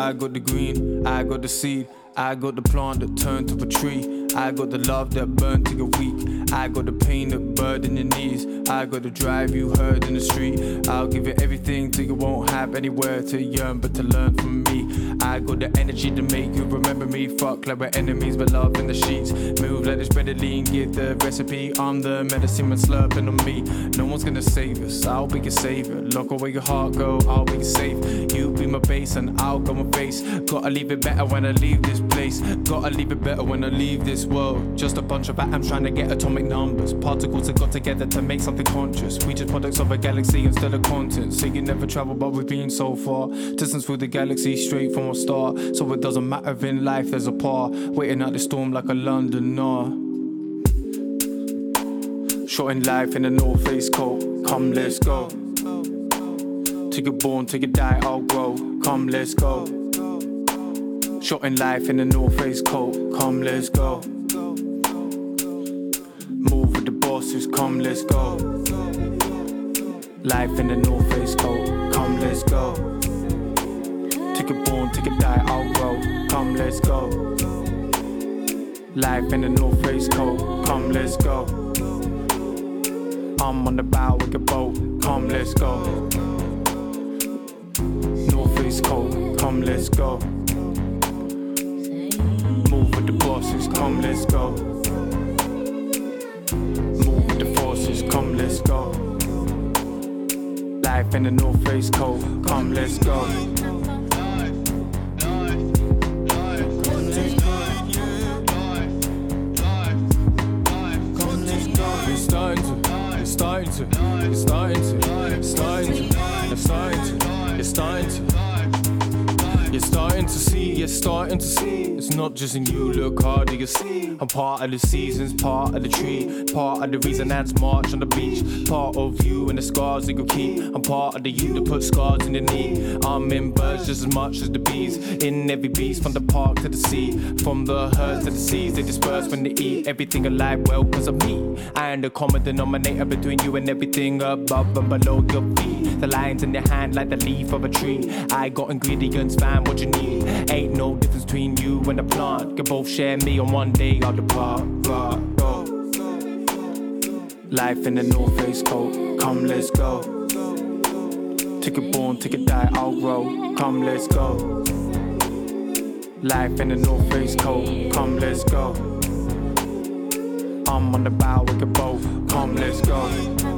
I got the green, I got the seed, I got the plant that turned to a tree. I got the love that burned till you're weak. I got the pain that burdened your knees. I got the drive you heard in the street. I'll give you everything till you won't have anywhere to yearn but to learn from me. I got the energy to make you remember me. Fuck like we're enemies but love in the sheets. Move like this readily and give the recipe. I'm the medicine man slurping on me. No one's gonna save us, I'll be your savior. Lock away your heart, girl, I'll be safe. You be my base and I'll go and face. Gotta leave it better when I leave this place. Gotta leave it better when I leave this world. Just a bunch of atoms trying to get atomic numbers. Particles that got together to make something conscious. We just products of a galaxy instead of content. So you never travel but we've been so far. Distance through the galaxy straight from a star. So it doesn't matter if in life there's a par. Waiting out the storm like a Londoner. Short in life in the North Face coat. Come let's go. Till you're born, till you die I'll grow. Come let's go. Short in life in the North Face coat. Come let's go. Move with the bosses. Come let's go. Life in the North Face coat. Come let's go. Till you're born, till you die I'll grow. Come let's go. Life in the North Face coat. Come let's go. I'm on the bow with the boat. Come let's go. North Face coat. Come let's go. Move with the bosses, come let's go. Move with the forces, come let's go. Life in the North Face coat, come let's go. It's starting to, it's starting to, it's starting to, it's starting to, it's starting to, it's starting to. You're starting to see, you're starting to see. It's not just in you, look harder, you see. I'm part of the seasons, part of the tree. Part of the reason that's march on the beach. Part of you and the scars that you keep. I'm part of the you that put scars in the knee. I'm in birds just as much as the bees. In every beast, from the park to the sea. From the herds to the seas, they disperse when they eat. Everything alive, well, cause of me. I am the common denominator between you and everything above and below your feet. The lines in your hand like the leaf of a tree. I got ingredients, fam, what you need. Ain't no difference between you and the plant. Can both share me on one day I'll depart. Go, go. Life in the North Face coat. Come let's go. Till you're born, till you die I'll grow. Come let's go. Life in the North Face coat. Come let's go. I'm on the bow with the boat. Come let's go.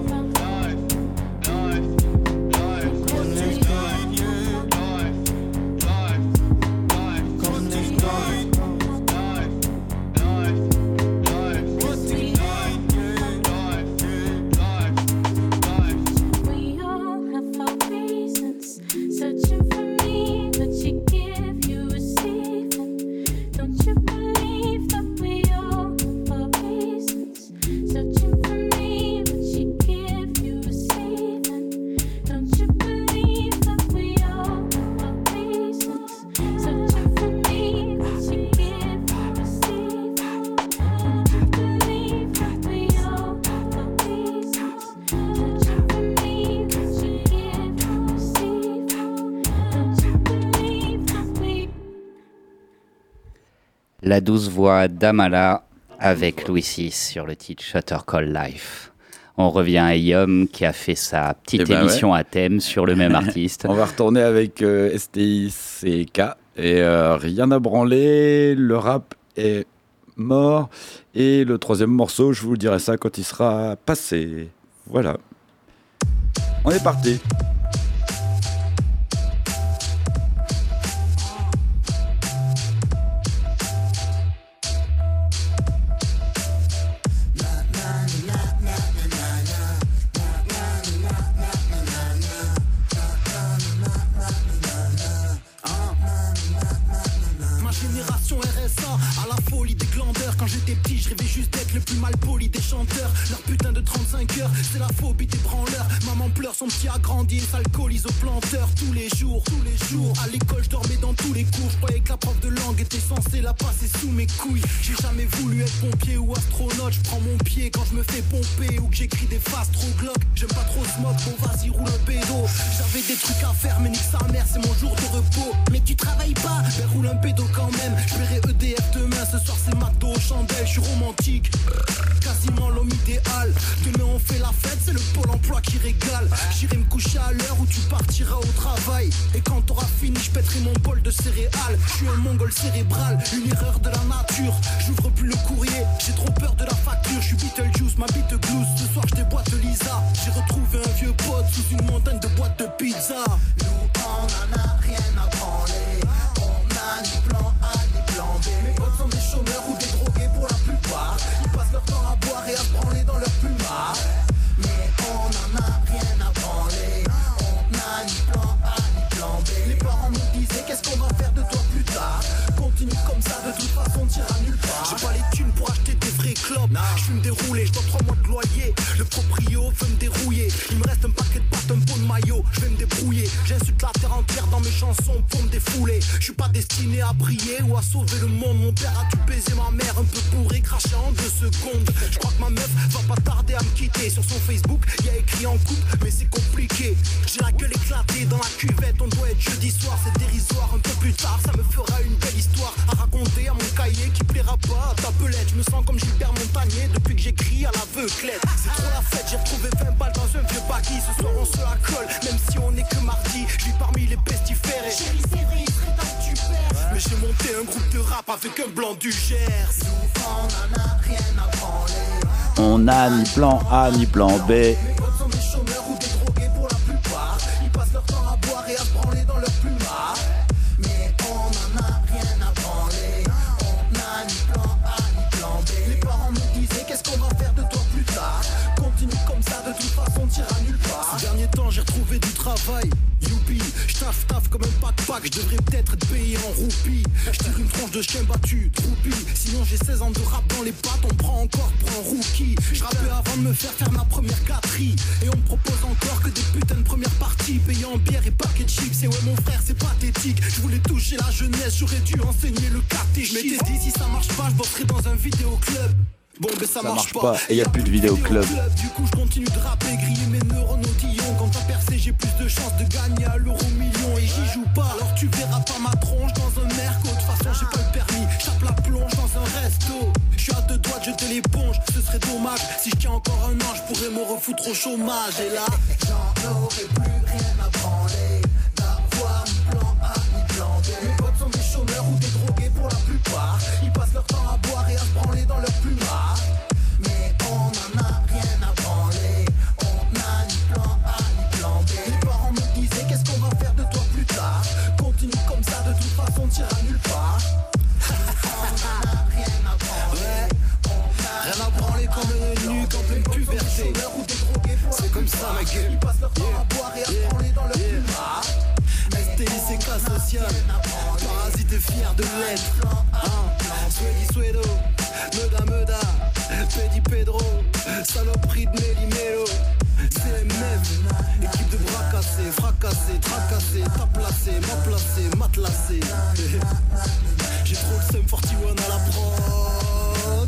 La douce voix d'Amala avec Louis six sur le titre Shutter Call Life. On revient à Yom qui a fait sa petite eh ben émission ouais. à thème sur le même artiste. On va retourner avec euh, S T I C K et euh, rien à branler, le rap est mort et le troisième morceau, je vous dirai ça quand il sera passé. Voilà. On est parti. Quand j'étais petit, je rêvais juste d'être le plus mal poli des chanteurs. Leur putain de trente-cinq heures, c'est la phobie des branleurs. pleurs. Maman pleure, son petit a grandi et s'alcoolise au planteur tous les jours, tous les jours. À l'école, je dormais dans tous les cours. Je croyais que la prof de langue était censée la passer sous mes couilles. J'ai jamais voulu être pompier ou astronaute. Je prends mon pied quand je me fais pomper ou que j'écris des phases trop glauques. J'aime pas trop smoke, bon vas-y roule un pédo. J'avais des trucs à faire, mais nique sa mère, c'est mon jour de repos. Mais tu travailles pas, ben roule un pédo quand même. Je verrai E D F demain, ce soir c'est mato, chandelle, je suis romantique. Quasiment l'homme idéal. Demain on fait la fête, c'est le pôle emploi qui régale. J'irai me coucher à l'heure où tu partiras au travail. Et quand t'auras fini, je pèterai mon bol de céréales. Je suis un mongol cérébral, une erreur de la nature. J'ouvre plus le courrier, j'ai trop peur de la facture. Je suis Beetlejuice, ma bite glousse. Ce soir je déboîte Lisa. J'ai retrouvé un vieux pote sous une montagne de boîtes de pizza. Nous on en a rien à branler. On a ni plan A ni plan B. Mes potes sont des chômeurs ou des drogués pour la plupart. Ils passent leur temps à boire et à se branler dans leur plumard. Mais on en a rien à branler. On a ni plan A ni plan B. Les parents nous disaient qu'est-ce qu'on va faire de toi plus tard. Continue comme ça, de toute façon t'iras nulle part. J'ai pas les thunes pour acheter des vrais clopes. Je fume des roulés, je dois trois mois de loyer. Le proprio veut me dérouiller. Il me reste un paquet de pâtes, un pot de maillot. Je vais me débrouiller. J'insulte la terre entière dans mes chansons pour me défouler. Je suis pas destiné à briller ou à sauver le monde. Mon père a dû baiser ma mère un peu bourré, craché en deux secondes. Je crois que ma meuf va pas tarder à me quitter. Sur son Facebook, y a écrit en couple, mais c'est compliqué. J'ai la gueule éclatée dans la cuvette. On doit être jeudi soir, c'est dérisoire. Un peu plus tard, ça me fera une belle histoire à raconter à mon cahier qui plaira pas à ta pelette. Je me sens comme Gilbert Montagnier depuis que j'écris à l'aveuglette. C'est trop la fête, j'ai retrouvé vingt balles dans un vieux baggy. Ce soir on se la colle, même si on est que mardi. Je vis parmi les pestiférés. Chérie, c'est vrai, il serait temps que tu perds. Mais j'ai monté un groupe de rap avec un blanc du Gers. Nous on en a rien à branler. On n'a ni plan A ni plan B. Mes potes sont des chômeurs ou des drogués pour la plupart. Ils passent leur temps à boire et à se branler dans leur plumard. Mais on en a rien à branler. On n'a ni plan A ni plan B. Les parents nous disaient qu'est-ce qu'on va faire de toi plus tard. Continue comme ça, de toute façon t'iras nulle part. Ces derniers temps j'ai retrouvé du travail. Youpi, j'taffe taffe comme un pack-pack. Je devrais peut-être être payé en roupies. J'tire une tranche de chien battu, troupi. Sinon j'ai seize ans de rap dans les pattes. On me prend encore pour un rookie. J'rappais avant de me faire faire ma première quatrie. Et on me propose encore que des putains de premières parties payées en bière et paquet de chips. Et ouais mon frère c'est pathétique. Je voulais toucher la jeunesse, j'aurais dû enseigner le catéchisme. Je m'étais dit si ça marche pas, je bosserai dans un vidéoclub. Bon ben ça, Ça marche, marche pas, et y a plus de vidéoclub. Du coup je continue de rapper, griller mes neurones au tillon. Quand t'as percé j'ai plus de chances de gagner à l'euro million. Et j'y joue pas, alors tu verras pas ma tronche dans un merco. De toute façon j'ai pas le permis, j'tape la plonge dans un resto. Je suis à deux doigts de jeter l'éponge, ce serait dommage. Si je tiens encore un an je pourrais me refoutre au chômage. Et là j'en aurais plus rien à branler. D'avoir ni plan A ni plan B. Mes potes sont des chômeurs ou des drogués pour la plupart. Ils passent leur temps à boire et à se branler dans leur plumard. Mais on en a rien à branler. On n'a ni plan A ni plan B. Les parents me disaient qu'est-ce qu'on va faire de toi plus tard. Continue comme ça, de toute façon t'iras nulle part. On en a rien à branler. Rien à branler comme un nu en pleine puberté. C'est comme ça ma gueule. Ils passent leur temps à boire et à se branler dans leur plumard. S T I C K social, parasite et fier de l'être. Swedi Swedo, Meda Meda, Pedi Pedro, saloperie de Nelly Melo. C M F, équipe de bras cassés, fracassés, tracassés, t'as placé, m'a placé, matelassé. J'ai trop le seum quarante et un à la prod.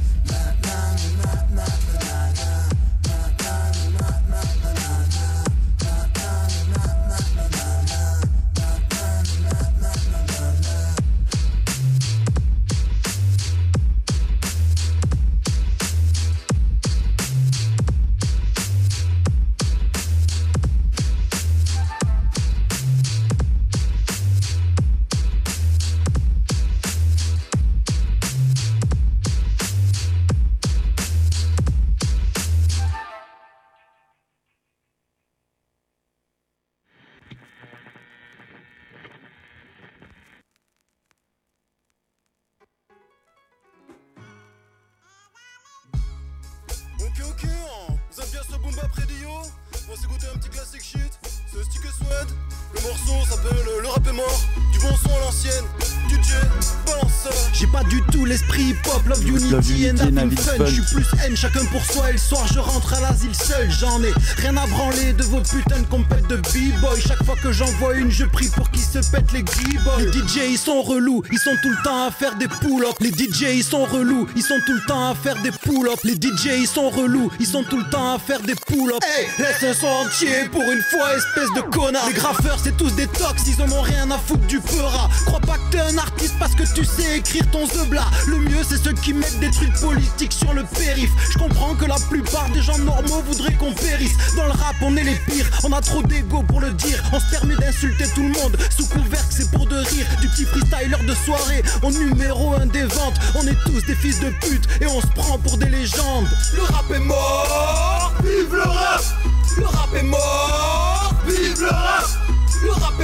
Ok ok, hein. Vous aimez bien ce boom bap radio? On va s'écouter un petit classique shit. C'est Stick et Swed. Le morceau s'appelle Le rap est mort. Du bon son à l'ancienne. D J balance. J'ai pas du tout l'esprit hip-hop, love unity and having fun. J'suis plus haine, chacun pour soi et le soir je rentre à l'asile seul. J'en ai rien à branler de vos putains de compètes de b-boy. Chaque fois que j'en vois une je prie pour qu'ils se pètent les g-boys. Les D J ils sont relous, ils sont tout le temps à faire des pull-ups. Les D J ils sont relous, ils sont tout le temps à faire des pull-ups. Les D J ils sont relous, ils sont tout le temps à faire des pull-ups. Hey, laisse un son entier pour une fois, espèce de connard. Les graffeurs c'est tous des tox, ils en ont rien à foutre du peura. Crois pas que t'es un artiste parce que tu sais écrire ton zebla. Le mieux c'est ceux qui mettent des trucs politiques sur le périph'. Je comprends que la plupart des gens normaux voudraient qu'on périsse. Dans le rap on est les pires, on a trop d'ego pour le dire. On se permet d'insulter tout le monde sous couvert que c'est pour de rire. Du petit freestyler de soirée, on numéro un des ventes. On est tous des fils de pute et on se prend pour des légendes. Le rap est mort, vive le rap. Le rap est mort, vive le rap. Le rap est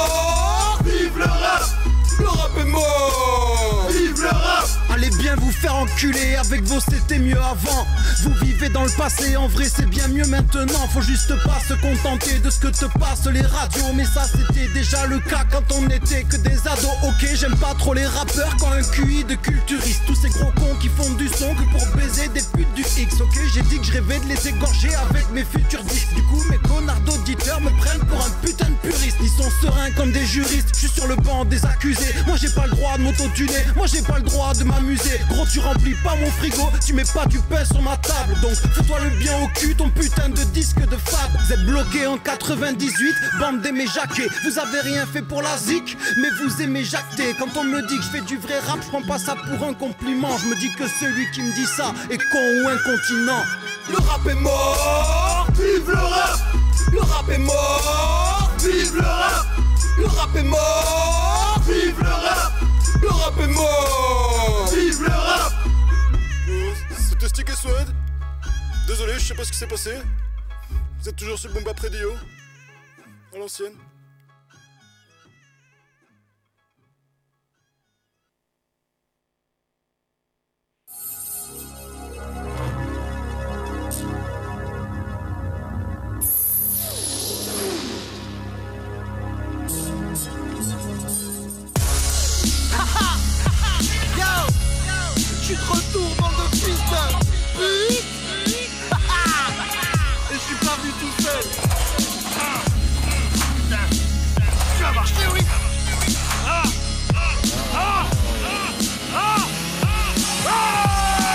mort, vive le rap. Le rap est mort, vive le rap. Allez bien vous faire enculer, avec vos c'était mieux avant. Vous vivez dans le passé, en vrai c'est bien mieux maintenant. Faut juste pas se contenter de ce que te passent les radios. Mais ça c'était déjà le cas quand on n'était que des ados. Ok, j'aime pas trop les rappeurs quand un Q I de culturiste. Tous ces gros cons qui font du son que pour baiser des putes du X. Ok, j'ai dit que je rêvais de les égorger avec mes futurs disques. Du coup mes connards d'auditeurs me prennent pour un putain de puriste. Ils sont sereins comme des juristes, je suis sur le banc des accusés. Moi j'ai pas le droit de m'auto-tuner, moi j'ai pas le droit de m'amuser. Gros tu remplis pas mon frigo, tu mets pas du pain sur ma table. Donc fais-toi le bien au cul, ton putain de disque de fab. Vous êtes bloqué en quatre-vingt-dix-huit, bande d'aimer jaquer. Vous avez rien fait pour la zik, mais vous aimez jacter. Quand on me dit que je fais du vrai rap, je prends pas ça pour un compliment. Je me dis que celui qui me dit ça est con ou incontinent. Le rap est mort, vive le rap. Le rap est mort, vive le rap. Le rap est mort, vive le rap. Le rap est mort, vive le rap. C'était Stick et Swed. Désolé, je sais pas ce qui s'est passé. Vous êtes toujours sur le Boom Bap Radio. À l'ancienne. Je suis de retour, bande de fils de pute. Et je suis pas venu tout seul. Tu vas marcher, oui. Ah, ah, ah, ah.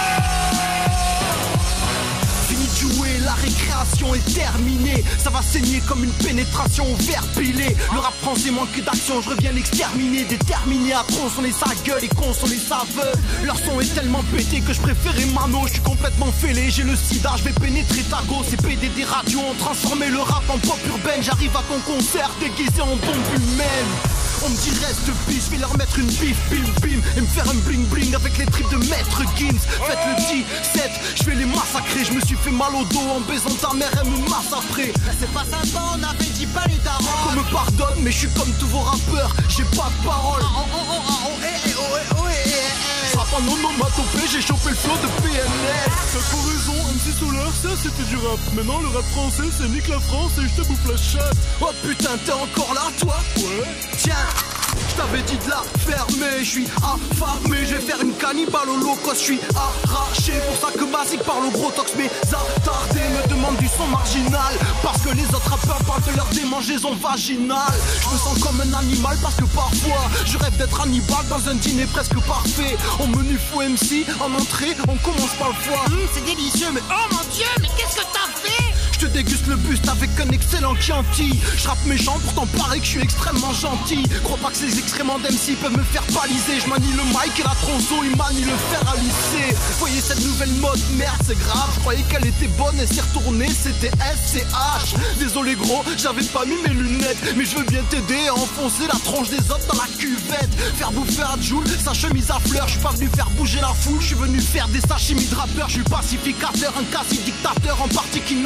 Fini de jouer, la récréation est terminée. Ça va saigner comme une pénétration au verre pilé. Le rap français manque d'action, je reviens l'exterminer. Déterminé à tronçonner sa gueule et consoler sa veuve. Leur son est tellement pété que je préférais Mano. Je suis complètement fêlé, j'ai le sida, je vais pénétrer ta go. Ces P D des radios ont transformé le rap en pop urbaine. J'arrive à ton concert déguisé en bombe humaine. On me dit reste bitch, je vais leur mettre une bif, bim bim. Et me faire un bling bling avec les tripes de Maître Gims. Faites le dix-sept, je vais les massacrer. Je me suis fait mal au dos en baisant ta mère, elle me masse après. Là c'est pas sympa, on avait dit pas les darons. Qu'on me pardonne, mais je suis comme tous vos rappeurs, j'ai pas de parole. Ah, oh, oh, oh, oh, eh, eh, oh, eh, oh, eh, eh. Frappe en onomatopée, j'ai chopé le flow de P N L. T'as trop raison, M C Solar, ça c'était du rap. Maintenant le rap français c'est nique la France et je te bouffe la chatte. Oh putain, t'es encore là toi? Ouais. Tiens, je t'avais dit de la fermer, je suis affamé, je vais faire une cannibale au loco, je suis arraché. Pour ça que Basique parle au gros tox, mes attardés me demandent du son marginal. Parce que les autres rappeurs parlent de leur démangeaison vaginale. Je me sens comme un animal parce que parfois je rêve d'être Hannibal dans un dîner presque parfait. Au menu fou M C, en entrée, on commence par le foie. Mmh, c'est délicieux, mais oh mon dieu, mais qu'est-ce que t'as fait? Je te déguste le buste avec un excellent Chianti. Je rappe méchant, pourtant pareil que je suis extrêmement gentil. Crois pas que ces excréments d'M C peuvent me faire baliser. Je manie le mic et la tronçon, il manie le fer à lisser. Voyez cette nouvelle mode, merde c'est grave. Je croyais qu'elle était bonne et s'est retournée, c'était S C H. Désolé gros, j'avais pas mis mes lunettes. Mais je veux bien t'aider à enfoncer la tronche des autres dans la cuvette. Faire bouffer à Joule, sa chemise à fleurs. Je suis pas venu faire bouger la foule, je suis venu faire des sashimi de rappeurs. Je suis pacificateur, un quasi-dictateur en partie kidnappeur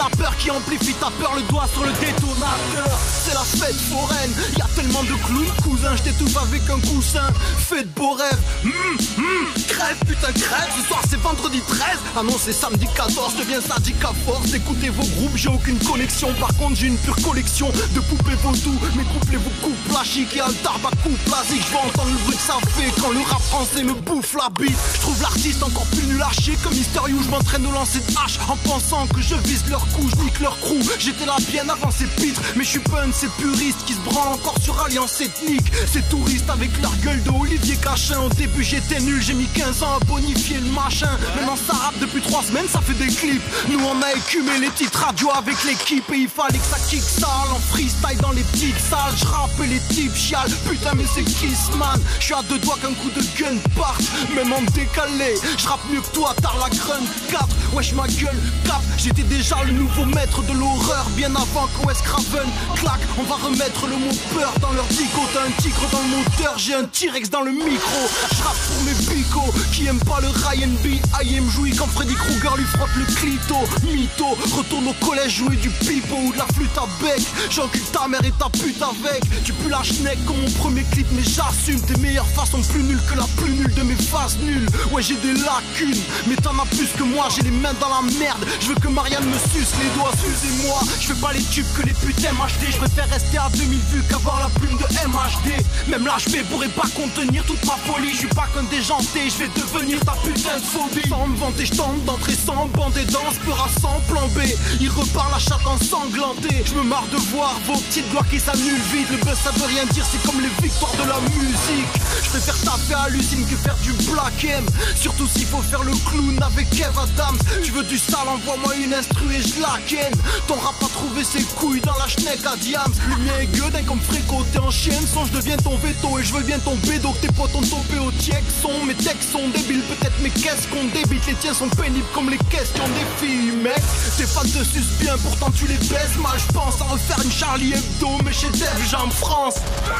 qui amplifie ta peur, le doigt sur le détonateur. C'est la fête foraine, y'a tellement de clowns, cousin, je t'étouffe avec un coussin. Fais de beaux rêves, mmh, mmh, crève, putain crève. Ce soir c'est vendredi treize, ah non c'est samedi quatorze. Je deviens sadique à force d'écouter vos groupes, j'ai aucune connexion. Par contre j'ai une pure collection de poupées vaudou. Mes couplets vous coupent la chic et un tarba coupe la zik. Je veux entendre le bruit que ça fait quand le rap français me bouffe la bite. Je trouve l'artiste encore plus nul à chier comme Mister You. Je m'entraîne au lancer de hache en pensant que je vise leur cou, je nique leur crew. J'étais là bien avant ces pitres, mais je suis pun, ces puristes qui se branlent encore sur alliance ethnique. Ces touristes avec leur gueule de Olivier Cachin. Au début j'étais nul, j'ai mis quinze ans à bonifier le machin. Maintenant ça rappe depuis trois semaines, ça fait des clips. Nous on a écumé les petites radios avec l'équipe et il fallait que ça kick sale en freestyle dans les petites salles. Je rappe et les types chialent, putain mais c'est Kissman. Je suis à deux doigts qu'un coup de gun parte, même en décalé. Je rappe mieux que toi, t'as la grunt quatre. Wesh ma gueule, cap, j'étais déjà le nouveau maître de l'horreur. Bien avant qu'O S Craven claque, on va remettre le mot peur dans leur dico. T'as un tigre dans le moteur, j'ai un T-Rex dans le micro. Je rappe pour mes bicots qui aiment pas le Ryan B. I am jouis quand Freddy Krueger lui frotte le clito. Mytho, retourne au collège jouer du pipeau ou de la flûte à bec. J'encule ta mère et ta pute avec. Tu pues la schneck comme mon premier clip, mais j'assume. Tes meilleures faces sont plus nulles que la plus nulle de mes phases nulles. Ouais j'ai des lacunes, mais t'en as plus que moi, j'ai les mains dans la merde. Je veux que Marianne me suce les doigts, excusez-moi. Je fais pas les tubes que les putes M H D. Je préfère rester à deux mille vues qu'avoir la plume de M H D. Même l'H B pourrait pas contenir toute ma folie. Je suis pas qu'un déjanté, je vais devenir ta putain de phobie. Sans me vanter, je tente d'entrer sans bander dans ce peur à sans plan B. Il repart la chatte ensanglantée. Je me marre de voir vos petites gloires qui s'annulent vite. Le buzz ça veut rien dire, c'est comme les victoires de la musique. Je préfère taper à l'usine que faire du black M. Surtout s'il faut faire le clown avec Kev Adams. Tu veux du sale, envoie-moi une instru et je la ken. Ton rap a trouvé ses couilles dans la schneck à Diams. Le mien est gueudin comme Fréco, t'es en chienne. Sans je deviens ton veto et je veux bien ton bédo. Que tes potes ont topé au tiek son. Mes textes sont débiles, peut-être mes caisses qu'on débite. Les tiens sont pénibles comme les questions des filles, mec. Tes fans te sucent bien, pourtant tu les baises mal. Je pense à refaire une Charlie Hebdo, mais chez Def Jam France.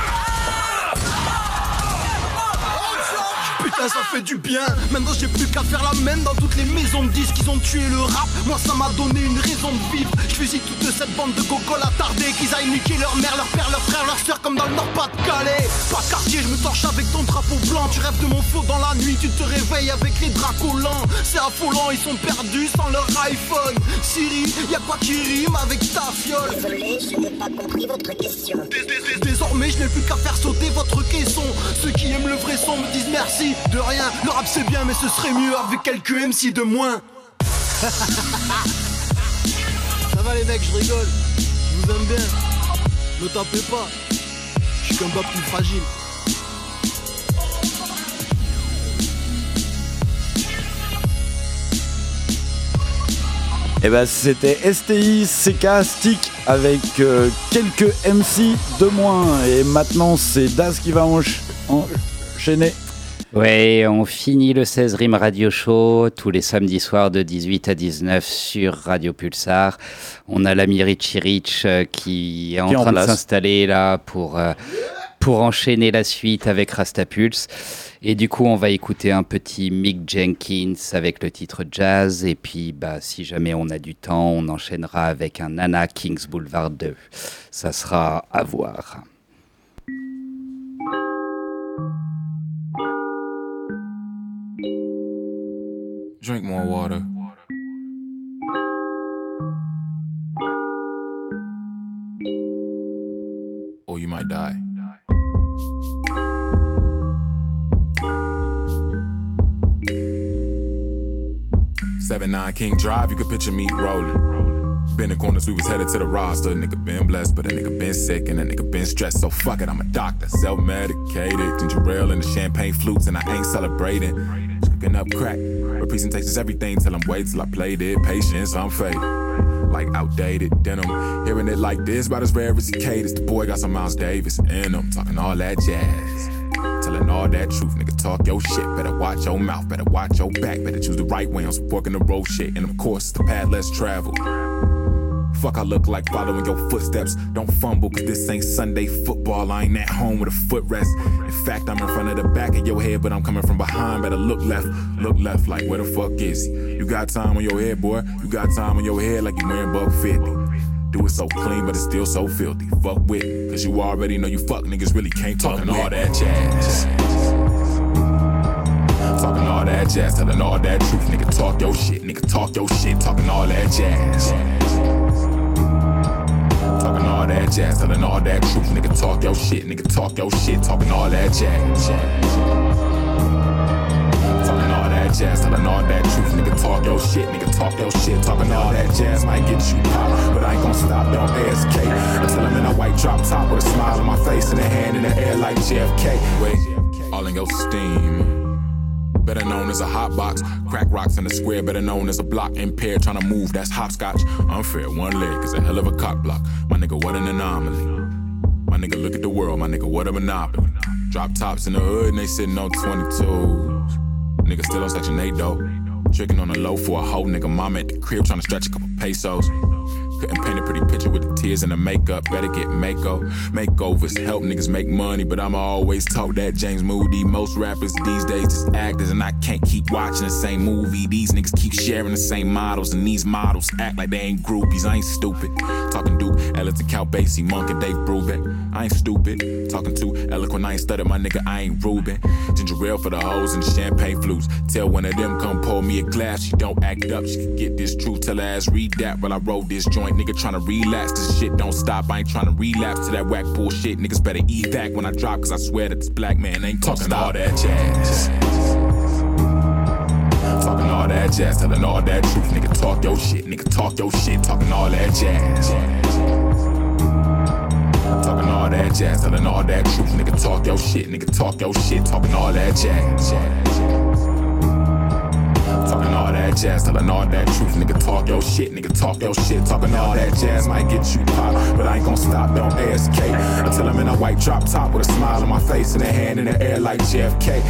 Putain ça fait du bien. Maintenant j'ai plus qu'à faire la mène dans toutes les maisons de disques. Ils ont tué le rap, moi ça m'a donné une raison de vivre. Je fusille toute cette bande de gogoles attardés. Qu'ils aillent niquer leur mère, leur père, leur frère, leur soeur comme dans le Nord-Pas-de-Calais. Pas de quartier, je me torche avec ton drapeau blanc. Tu rêves de mon flow dans la nuit, tu te réveilles avec les draps collants. C'est affolant, ils sont perdus sans leur iPhone. Siri, y'a quoi qui rime avec ta fiole? Désolé, je n'ai pas compris votre question. Désormais je n'ai plus qu'à faire sauter votre caisson. Ceux qui aiment le vrai son me disent merci. De rien, le rap c'est bien mais ce serait mieux avec quelques M C de moins. Ça va les mecs, je rigole. Je vous aime bien. Ne tapez pas. Je suis qu'un bas plus fragile. Et bah c'était S T I C K Stick avec euh, quelques M C de moins. Et maintenant c'est Daz qui va encha- enchaîner. Ouais, on finit le seize Rimes Radio Show tous les samedis soirs de dix-huit à dix-neuf sur Radio Pulsar. On a l'ami Richie Rich euh, qui est en qui train en de s'installer là pour, euh, pour enchaîner la suite avec Rastapulse. Et du coup, on va écouter un petit Mick Jenkins avec le titre Jazz. Et puis, bah, si jamais on a du temps, on enchaînera avec un Nana Kings Boulevard deux. Ça sera à voir. Drink more water. Or you might die. seven nine King Drive, you could picture me rolling. Been in corners, we was headed to the roster. Nigga been blessed, but a nigga been sick and a nigga been stressed. So fuck it, I'm a doctor, self-medicated. Ginger ale and the champagne flutes, and I ain't celebrating. Just cooking up crack. Representation's everything, tell them wait till I played it. Patience, I'm faded. Like outdated denim. Hearing it like this, about as rare as he caters. The boy got some Miles Davis in him. Talking all that jazz. Telling all that truth, nigga, talk your shit. Better watch your mouth, better watch your back. Better choose the right way on some fork in the road shit. And of course, the path less traveled. fuck I look like following your footsteps. Don't fumble, cause this ain't Sunday football. I ain't at home with a footrest. In fact, I'm in front of the back of your head, but I'm coming from behind. Better look left, look left, like where the fuck is he? You got time on your head, boy. You got time on your head like you wearing buck fifty. Do it so clean, but it's still so filthy. Fuck with me, cause you already know you fuck niggas really can't talk all that jazz. Talking all that jazz, telling all that truth. Nigga, talk your shit, nigga, talk your shit. Talking all that jazz. Talking all that jazz, telling all that truth. Nigga, talk your shit, nigga, talk your shit. Talking all that jazz. Talking all that jazz, telling all that truth. Nigga, talk your shit, nigga, talk your shit. Talking all that jazz might get you pop, but I ain't gon' stop, don't A S K. I tell him in a white drop top with a smile on my face and a hand in the air like J F K. Wait, all in your steam. Better known as a hot box. Crack rocks in the square, better known as a block. Impaired, trying to move, that's hopscotch. Unfair, one leg is a hell of a cock block. My nigga, what an anomaly. My nigga, look at the world, my nigga, what a monopoly. Drop tops in the hood and they sitting on twenty-twos. Nigga still on section eight though. Tricking on the low for a hoe, nigga. Mama at the crib trying to stretch a couple pesos. Couldn't paint a pretty picture with the tears and the makeup. Better get mako. Makeovers help niggas make money, but I'ma always talk that James Moody. Most rappers these days just actors, and I can't keep watching the same movie. These niggas keep sharing the same models, and these models act like they ain't groupies. I ain't stupid. Talking Duke, Ellington, Count Basie, Monk, and Dave Brubeck. I ain't stupid. Talking too eloquent, I ain't studied, my nigga, I ain't Ruben. Ginger ale for the hoes and the champagne flutes. Tell one of them come pour me a glass. She don't act up, she can get this truth. Tell her ass read that while I roll this joint. Nigga tryna relax, this shit don't stop. I ain't tryna relapse to that whack bullshit. Niggas better eat that when I drop, cause I swear that this black man ain't talking all that jazz. Talking all that jazz, telling all that truth. Nigga talk your shit, nigga talk your shit. Talking all that jazz. Talking all that jazz, telling all that truth. Nigga talk your shit, nigga talk your shit. Talking all that jazz. Talking all that jazz, telling all that truth. Nigga talk your shit, nigga talk your shit. Talking all that jazz might get you pop, but I ain't gon' stop, don't A S K. I tell him in a white drop top with a smile on my face and a hand in the air like J F K.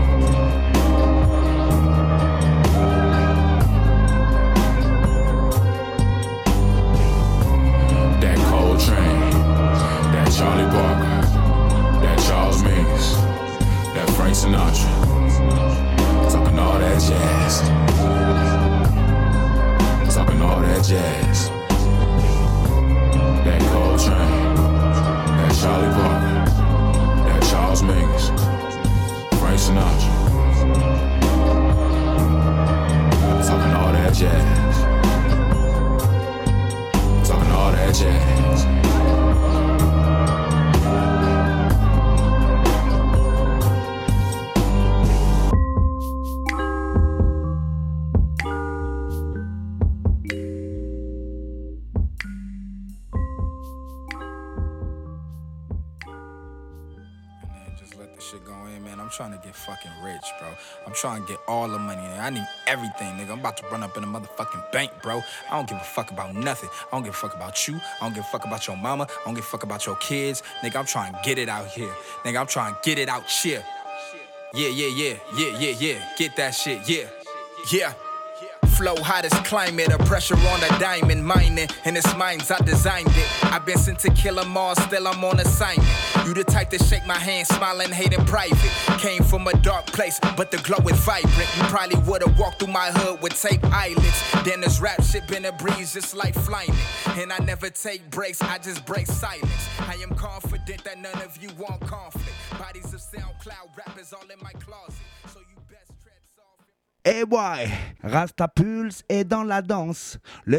That Coltrane, that Charlie Parker, that Charles Mingus, that Frank Sinatra. Talking all that jazz. Talking all that jazz. That Coltrane, that Charlie Parker, that Charles Mingus, Frank Sinatra. Talking all that jazz. Talking all that jazz. I'm trying to get fucking rich, bro. I'm trying to get all the money. I need everything, nigga. I'm about to run up in a motherfucking bank, bro. I don't give a fuck about nothing. I don't give a fuck about you. I don't give a fuck about your mama. I don't give a fuck about your kids. Nigga, I'm trying to get it out here. Nigga, I'm trying to get it out here. Yeah, yeah, yeah, yeah, yeah, yeah. Get that shit, yeah, yeah. Flow hottest climate, a pressure on the diamond mining. In its mines, I designed it. I've been sent to kill 'em all, still I'm on assignment. You the type to shake my hand, smiling, hate in private. Came from a dark place, but the glow is vibrant. You probably would've walked through my hood with tape eyelids. Then this rap shit been a breeze, just like flying it. And I never take breaks, I just break silence. I am confident that none of you want conflict. Bodies of SoundCloud rappers all in my closet. So you best tread soft. Eh ouais, Rasta Pulse est dans la danse. Le